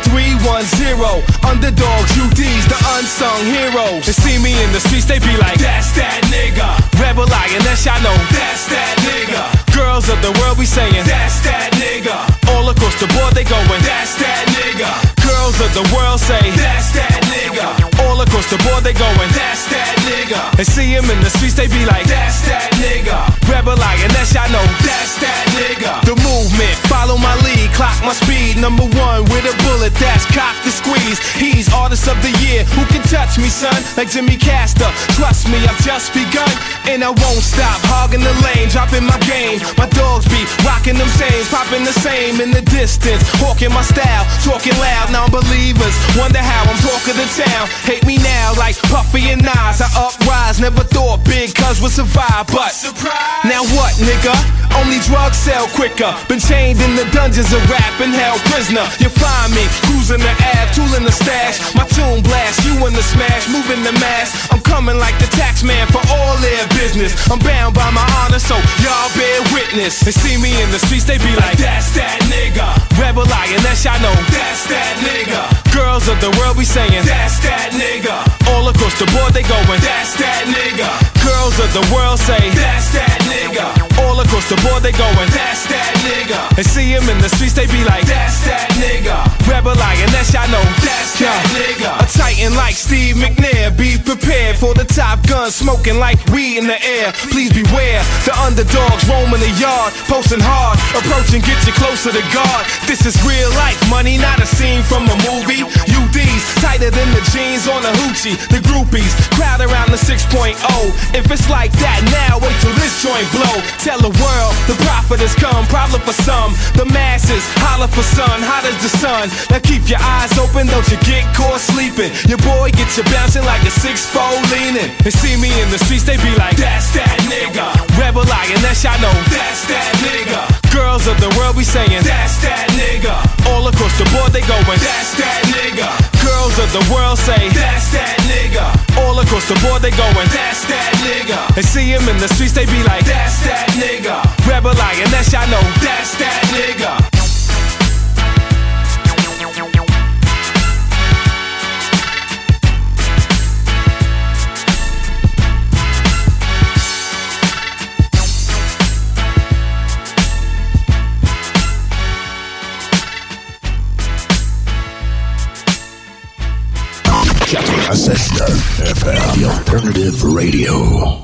310. Underdogs, UDs, the unsung heroes. They see me in the streets, they be like, that's that nigga. Rebel Lioness, y'all know, that's that nigga. Girls of the world be saying, that's that nigga. All across the board they going, that's that nigga. Girls of the world say, that's that nigga. All across the board they going, that's that nigga. They see him in the streets, they be like, that's that nigga. Rebel Lioness, y'all know, that's that nigga. The movement, follow my lead, clock my speed. Number one with a bullet that's cocked to squeeze. He's artist of the year, who can touch me, son? Like Jimmy Castor, trust me, I've just begun. And I won't stop, hogging the lane, dropping my game. My dogs be rocking them chains, popping the same in the distance. Hawking my style, talking loud, non-believers wonder how I'm talking to town. Hate me now like Puffy and Nas, I uprise. Never thought big cuz would survive, but surprise. Now what, nigga? Only drugs sell quicker. Been chained in the dungeons of rap and held prisoner. You find me cruising the Ave, tooling the stash. My tune blast, you in the smash, moving the mass. I'm coming like the tax man for all their business. I'm bound by my honor, so y'all bear witness. They see me in the streets, they be like, that's that nigga. Rebel Lioness, y'all know, that's that nigga. Girls of the world be saying, that's that nigga. All across the board they going, that's that nigga. Girls of the world say, that's that nigga. All across the board they going, that's that nigga. They see him in the streets, they be like, that's that nigga. Rebel Lioness, y'all know, that's that nigga. A titan like Steve McNair, be prepared for the Top Gun, smoking like weed in the air. Please beware, the underdogs roaming the yard, posting hard, approaching, get you closer to God. This is real life money, not a scene from a movie. UDs, tighter than the jeans on a hoochie. The groupies, crowd around the 6.0. If it's like that now, wait till this joint blow. Tell the world, the prophet has come, problem for some. The masses, holler for sun, hot as the sun. Now keep your eyes open, don't you get caught sleeping. Your boy get you bouncing like a 6'4" leaning. They see me in the streets, they be like, that's that nigga. Rebel Lioness, y'all know, that's that nigga. Girls of the world be saying, that's that nigga. All across the board they going, that's that nigga. Girls the world say, that's that nigga. All across the board they going, that's that nigga. And see him in the streets they be like, that's that nigga. Rebel Lioness, y'all know, that's that nigga. FM, the Alternative Radio.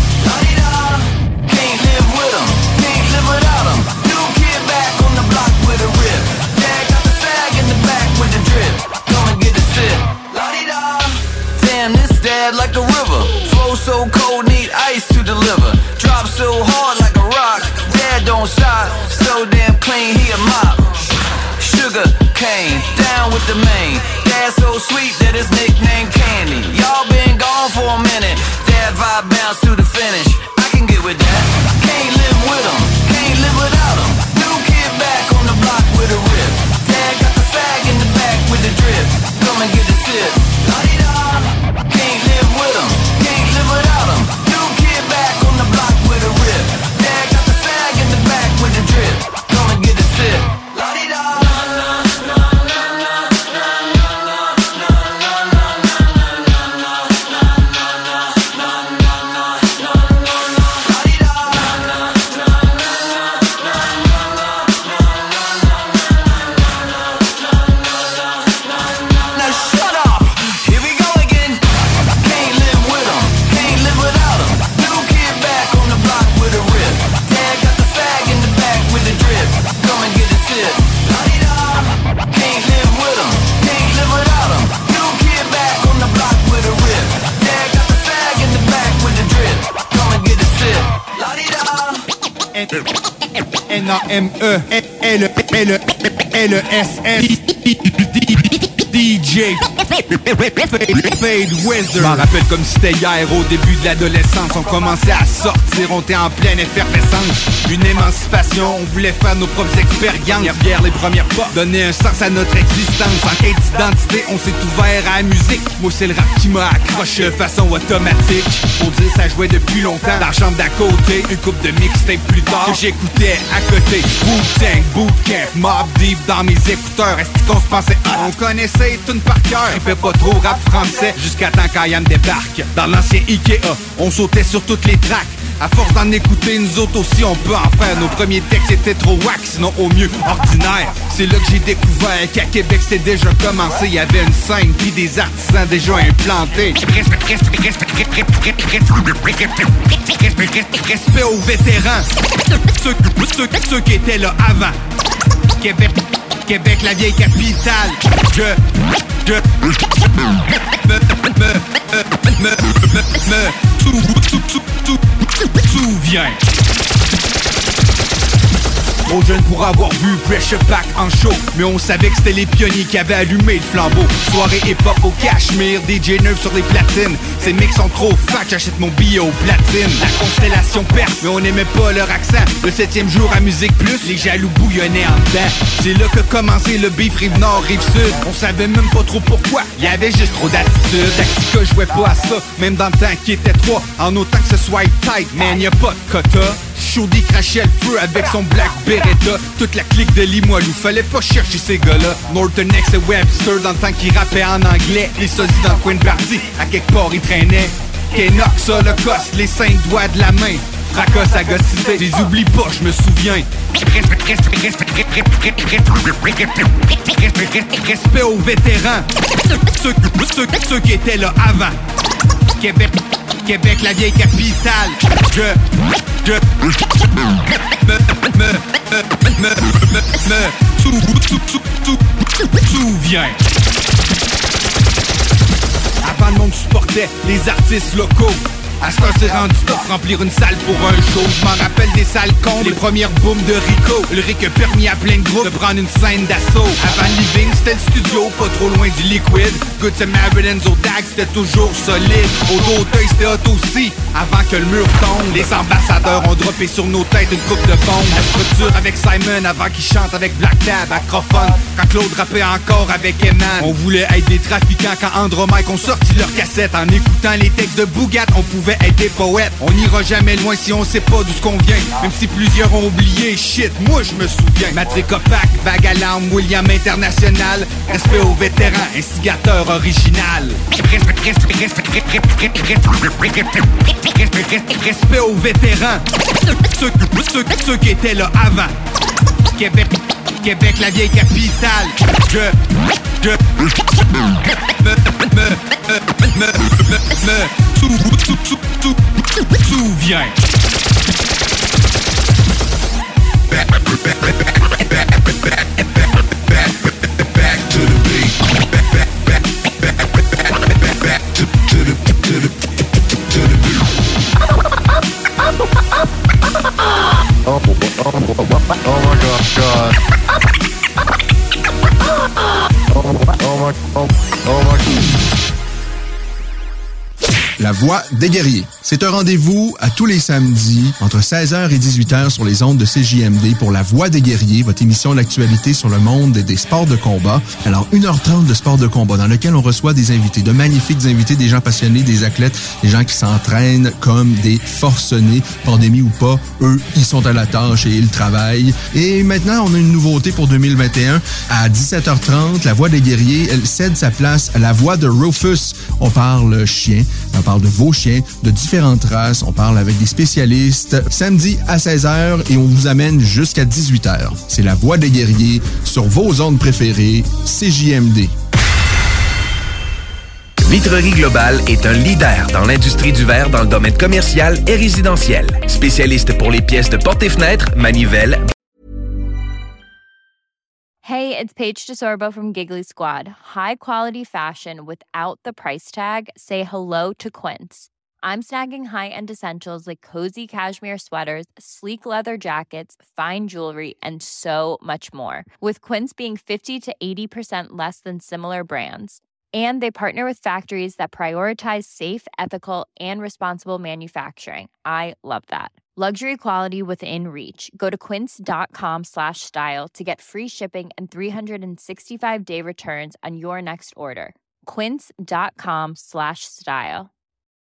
Can't live with 'em, can't live without 'em. New kid back on the block with a model. Sugar cane, down with the main. Dad so sweet that his nickname Candy. Y'all been gone for a minute. Dad vibe bounce to the finish. I can get with that. Can't live with him, can't live without him. New kid back on the block with a rip. Dad got the fag in the back with the drip. Come and get a sip. La-di-da. Can't live with him, can't live without him. New kid back on the block with a rip. Dad got the fag in the back with the drip. Come and get a sip. La-di-da. N-A-M-E-L-E-S-S DJ Fade Wizard. M'en rappelle comme si c'était hier, au début de l'adolescence. On commençait à sortir, on était en pleine effervescence. Une émancipation, on voulait faire nos propres expériences. Hier les premières portes, donner un sens à notre existence. En quête d'identité, on s'est ouvert à la musique. Moi c'est le rap qui m'a accroché de façon automatique. Faut dire ça jouait depuis longtemps dans la chambre d'à côté. Une coupe de mixtape plus tard que j'écoutais à côté. Wu-Tang, Bootcamp, Mobb Deep dans mes écouteurs. Est-ce qu'on se pensait on connaissait tout par cœur. Il fait pas trop rap français jusqu'à temps qu'Ayam débarque. Dans l'ancien Ikea, on sautait sur toutes les tracks. À force d'en écouter, nous autres aussi on peut en faire. Nos premiers textes étaient trop wack, sinon au mieux ordinaire. C'est là que j'ai découvert qu'à Québec c'était déjà commencé. Il y avait une scène puis des artisans déjà implantés. Respect aux vétérans, ceux qui étaient là avant. Québec, la vieille capitale. Souviens. Trop jeune pour avoir vu Pressure Pack en show, mais on savait que c'était les pionniers qui avaient allumé le flambeau. Soirée hip-hop au Cachemire, DJ Nerve sur les platines. Ces mix sont trop fat, j'achète mon billet au platine. La constellation perce, mais on n'aimait pas leur accent. Le 7e jour à Musique Plus, les jaloux bouillonnaient en dedans. C'est là que commençait le beef Rive-Nord, Rive-Sud. On savait même pas trop pourquoi, y avait juste trop d'attitude. Tactica jouait pas à ça, même dans le temps qui était 3. En autant que ce soit tight, man, y'a pas de quota. Chaudie crachait le feu avec son Black Beretta. Toute la clique de Limoilou, fallait pas chercher ces gars-là. Norton X et Webster dans le temps qu'ils rappaient en anglais. Les sosies dans le coin de party, à quelque part ils traînaient. Kenox, Holocaust, les 5 doigts de la main. Fracas à gossiter, je les oublie pas, je me souviens. Respect aux vétérans, ceux qui étaient là avant. Québec, la vieille capitale. Souviens. Avant le monde supportait les artistes locaux. À ce temps c'est rendu top remplir une salle pour un show. Je m'en rappelle des salles cons, les premières booms de Rico. Le Rick a permis à plein de groupes de prendre une scène d'assaut. Avant le living c'était le studio, pas trop loin du liquide. Good Samaritans au DAG c'était toujours solide. Au Dauteuil c'était hot aussi, avant que le mur tombe. Les ambassadeurs ont droppé sur nos têtes une coupe de bombes. La structure avec Simon avant qu'il chante avec Black Tab, Acrophone. Quand Claude rappait encore avec Eman. On voulait être des trafiquants quand Andromaque ont sorti leur cassette. En écoutant les textes de Bougat, on pouvait être des poètes. On n'ira jamais loin si on sait pas d'où ce qu'on vient. Même si plusieurs ont oublié, shit, moi je me souviens. Matric Opac, Vague Alarme, William International. Respect aux vétérans, instigateur original. Respect aux vétérans, ceux qui étaient là avant. Québec, la vieille capitale. Souviens. Oh my God. La Voix des guerriers. C'est un rendez-vous à tous les samedis entre 16h et 18h sur les ondes de CJMD pour La Voix des guerriers, votre émission d'actualité sur le monde des sports de combat. Alors, 1h30 de sport de combat dans lequel on reçoit des invités, de magnifiques invités, des gens passionnés, des athlètes, des gens qui s'entraînent comme des forcenés, pandémie ou pas. Eux, ils sont à la tâche et ils travaillent. Et maintenant, on a une nouveauté pour 2021. À 17h30, La Voix des guerriers, elle cède sa place à La Voix de Rufus. On parle chien, on parle de vos chiens, de différentes races. On parle avec des spécialistes. Samedi à 16h et on vous amène jusqu'à 18h. C'est La Voix des guerriers sur vos ondes préférées, CJMD. Vitrerie Globale est un leader dans l'industrie du verre dans le domaine commercial et résidentiel. Spécialiste pour les pièces de portes et fenêtres, manivelles. Hey, it's Paige DeSorbo from Giggly Squad. High quality fashion without the price tag. Say hello to Quince. I'm snagging high-end essentials like cozy cashmere sweaters, sleek leather jackets, fine jewelry, and so much more. With Quince being 50 to 80% less than similar brands. And they partner with factories that prioritize safe, ethical, and responsible manufacturing. I love that. Luxury quality within reach. Go to quince.com/style to get free shipping and 365-day returns on your next order. Quince.com/style.